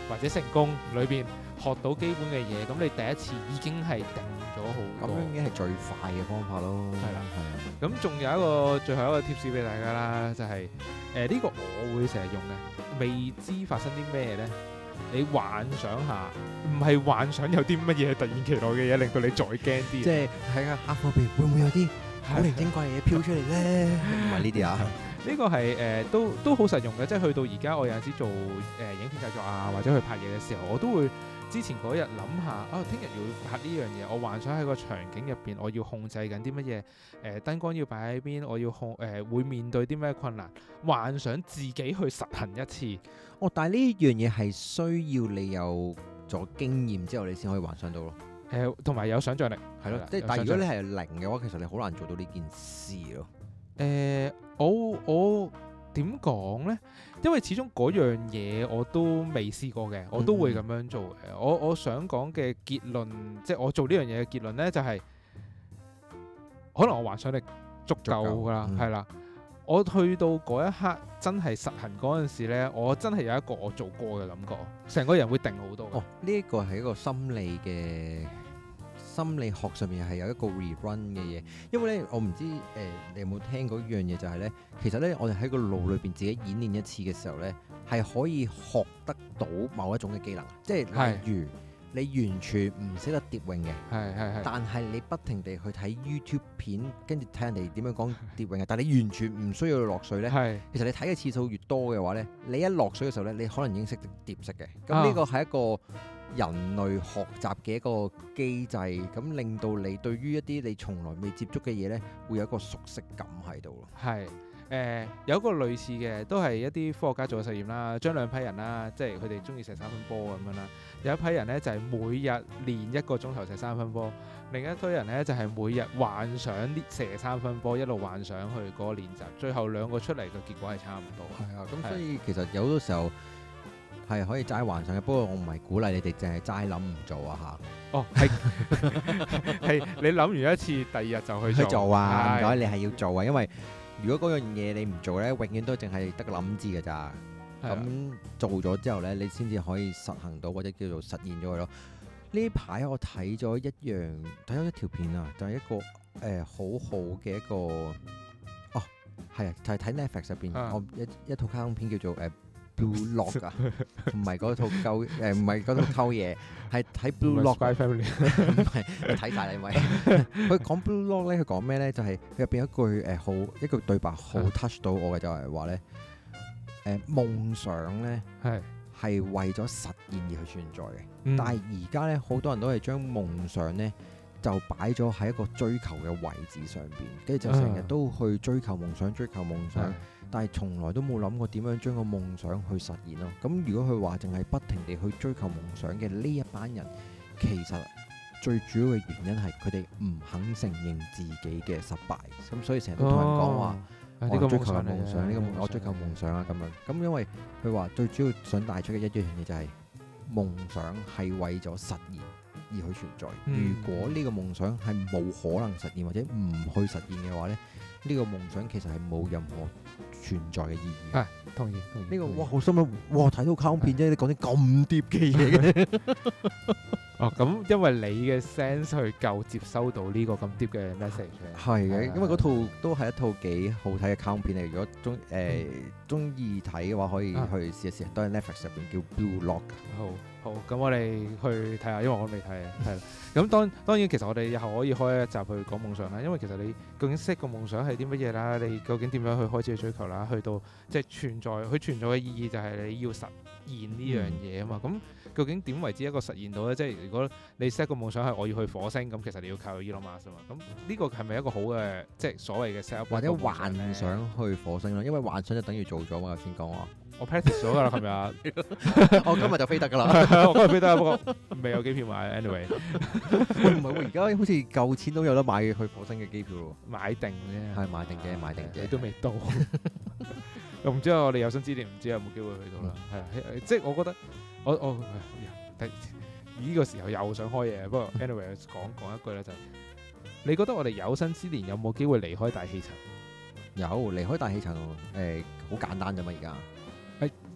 或者成功裏邊學到基本嘅嘢，咁你第一次已經係定咗好多。 咁樣已經係最快嘅方法咯。 係啦， 係啊。 咁仲有一個最後一個 tips 俾大家啦，就係誒呢個我會成日用嘅，未知發生啲咩咧？你幻想下，唔係幻想有啲乜嘢突然其來嘅嘢令到你再驚啲。 即係喺個黑火邊會唔會有啲古靈精怪嘅嘢飄出嚟咧？唔係呢啲啊。 呢個係誒、呃、都都好實用嘅，即係去到而家我有陣時做誒、呃、影片製作啊，或者去拍嘢嘅時候，我都會之前嗰日諗下，啊聽日要拍呢樣嘢，我幻想喺個場景入邊，我要控制緊啲乜嘢，誒、呃、燈光要擺喺邊，我要控誒、呃、會面對啲咩困難，幻想自己去實行一次。 哦，但係呢樣嘢係需要你有咗經驗之後，你先可以幻想到咯。 誒、呃，同埋有想像力， 係咯。即係，但係如果你係零嘅話，其實你好難做到呢件事咯。 誒、呃，我我點講咧？因為始終嗰樣嘢我都未試過嘅，我都會咁樣做嘅。嗯、我我想講嘅結論，即係我做呢樣嘢嘅結論咧，就係、是、可能我幻想力足夠㗎啦，係啦、嗯。我去到嗰一刻真係實行嗰陣時咧，我真係有一個我做過嘅感覺，成個人會定好多。哦， 呢一個係一個心理嘅。心理學上面係有一個 rerun 嘅嘢，因為咧我唔知誒、呃、你有冇聽過一樣嘢，就係咧其實咧我哋喺個腦裏邊自己演練一次嘅時候咧，係可以學得到某一種嘅技能，即係例如是你完全唔識得蝶泳嘅，係係係，但係你不停地去睇 YouTube 片，跟住睇人哋點樣講蝶泳嘅，但係你完全唔需要落水咧，係其實你睇嘅次數越多嘅話咧，你一落水嘅時候咧，你可能已經識得蝶式嘅，咁呢個係一個人類學習嘅一個機制，咁令到你對於一啲你從來未接觸嘅嘢咧，會有一個熟悉感喺度咯。係誒、 呃，有一個類似嘅，都係一啲科學家做嘅實驗啦，將兩批人啦，即係佢哋中意射三分波咁樣啦。有一批人咧就係、是、每日練一個鐘頭射三分波，另一堆人咧就係、是、每日幻想射三分波，一路幻想去嗰個練習，最後兩個出嚟嘅結果係差唔多。 係啊，咁所以其實有好多時候係可以齋幻想嘅，不過我唔係鼓勵你哋淨係齋諗唔做啊嚇。 哦，係係你諗完一次，第二日就去做， 去做啊！唔該，你係要做啊，因為如果嗰樣嘢你唔做咧，永遠都淨係得個諗字㗎咋。咁的做咗之後咧，你先至可以實行到或者叫做實現咗佢咯。呢排我睇咗一樣，睇咗一條片啊，就係、是、一個誒、呃、好好嘅一個哦，係啊，就係、是、睇 Netflix 入邊，的我一一套卡通片叫做誒。呃 Blue Lock 啊，唔係嗰套溝誒，唔係嗰套溝嘢，係睇 Blue Lock。唔係，你睇晒啦，因為佢講 Blue Lock 咧，佢講咩咧？就係佢入邊一句誒好一句對白好 touch 到我嘅，就係話咧誒夢想咧係係為咗實現而去存在嘅，嗯、但係而家咧好多人都係將夢想咧就擺咗喺一個追求嘅位置上邊，跟住就成日都去追求夢想，追求夢想。嗯但係從來都冇諗過點樣將個夢想去實現咯。咁如果佢話淨係不停地去追求夢想嘅呢一班人，其實最主要嘅原因係佢哋唔肯承認自己嘅失敗。咁所以成日都同人講話，我追求夢想，呢個我追求夢想啊咁樣。咁因為佢話最主要想帶出嘅一樣嘢就係夢想係為咗實現而去存在。如果呢個夢想係冇可能實現或者唔去實現嘅話咧，呢個夢想其實係冇任何存在嘅意義。係，同意同意。呢個哇，好心諗，哇睇到卡通片啫，你講啲咁 deep 嘅嘢嘅。哦，咁因為你嘅 sense 去夠接收到呢個咁 deep 嘅 message。係嘅，因為嗰套都係一套幾好睇嘅卡通片嚟。如果中誒中意睇嘅話，可以去試一試。都係 Netflix 入邊叫 Blue Lock。好。好，咁我哋去睇下，因為我未睇，係啦。咁當當然，其實我哋日後可以開一集去講夢想啦。因為其實你究竟 set 個夢想係啲乜嘢啦？你究竟點樣去開始去追求啦？去到即係存在，佢存在嘅意義就係你要實現呢樣嘢啊嘛。咁、嗯、究竟點為之一個實現到咧？即係如果你 set 個夢想係我要去火星，咁其實你要靠 Elon Musk 啊嘛。咁呢個係咪一個好嘅即係所謂嘅 set up 或者幻想去火星咯？因為幻想就等於做咗嘛。頭先講話。我 practice 咗㗎啦，琴日。我今日就飛得㗎啦。我今日飛得，不過未有機票買。Anyway，喂唔係喎，而家好似夠錢都有得買去火星嘅機票喎。買定啫。係買定啫，買定啫。你都未到。又唔知我哋有生之年唔知有冇機會去到啦。係啊，即係我覺得我我呢個時候又想開嘢，不過 anyway 講講一句咧就係，你覺得我哋有生之年有冇機會離開大氣層？有，離開大氣層誒，好簡單啫嘛，而家。誒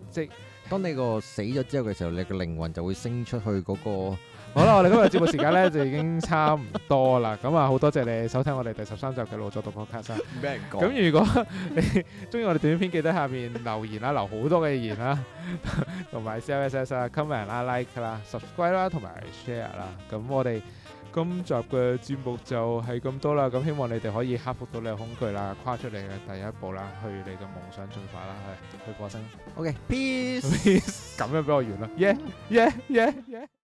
即係當你個死咗之後嘅時候，你個靈魂就會升出去嗰個。 好啦，我哋今日節目時間咧就已經差唔多啦。咁啊，好多謝你收聽我哋第十三集嘅腦作獨角卡啦。 唔俾人講。 咁如果你中意我哋短片，記得下面留言啦，留好多嘅言啦，同埋 C L S S 啊、comment 啦、like 啦、subscribe 啦，同埋 share 啦。咁我哋今集嘅節目就係咁多啦。咁希望你哋可以克服到你嘅恐懼啦，跨出你嘅第一步啦，去你嘅夢想進化啦，去去過生。 OK，peace。 peace。咁樣俾我完啦。Yeah yeah yeah yeah。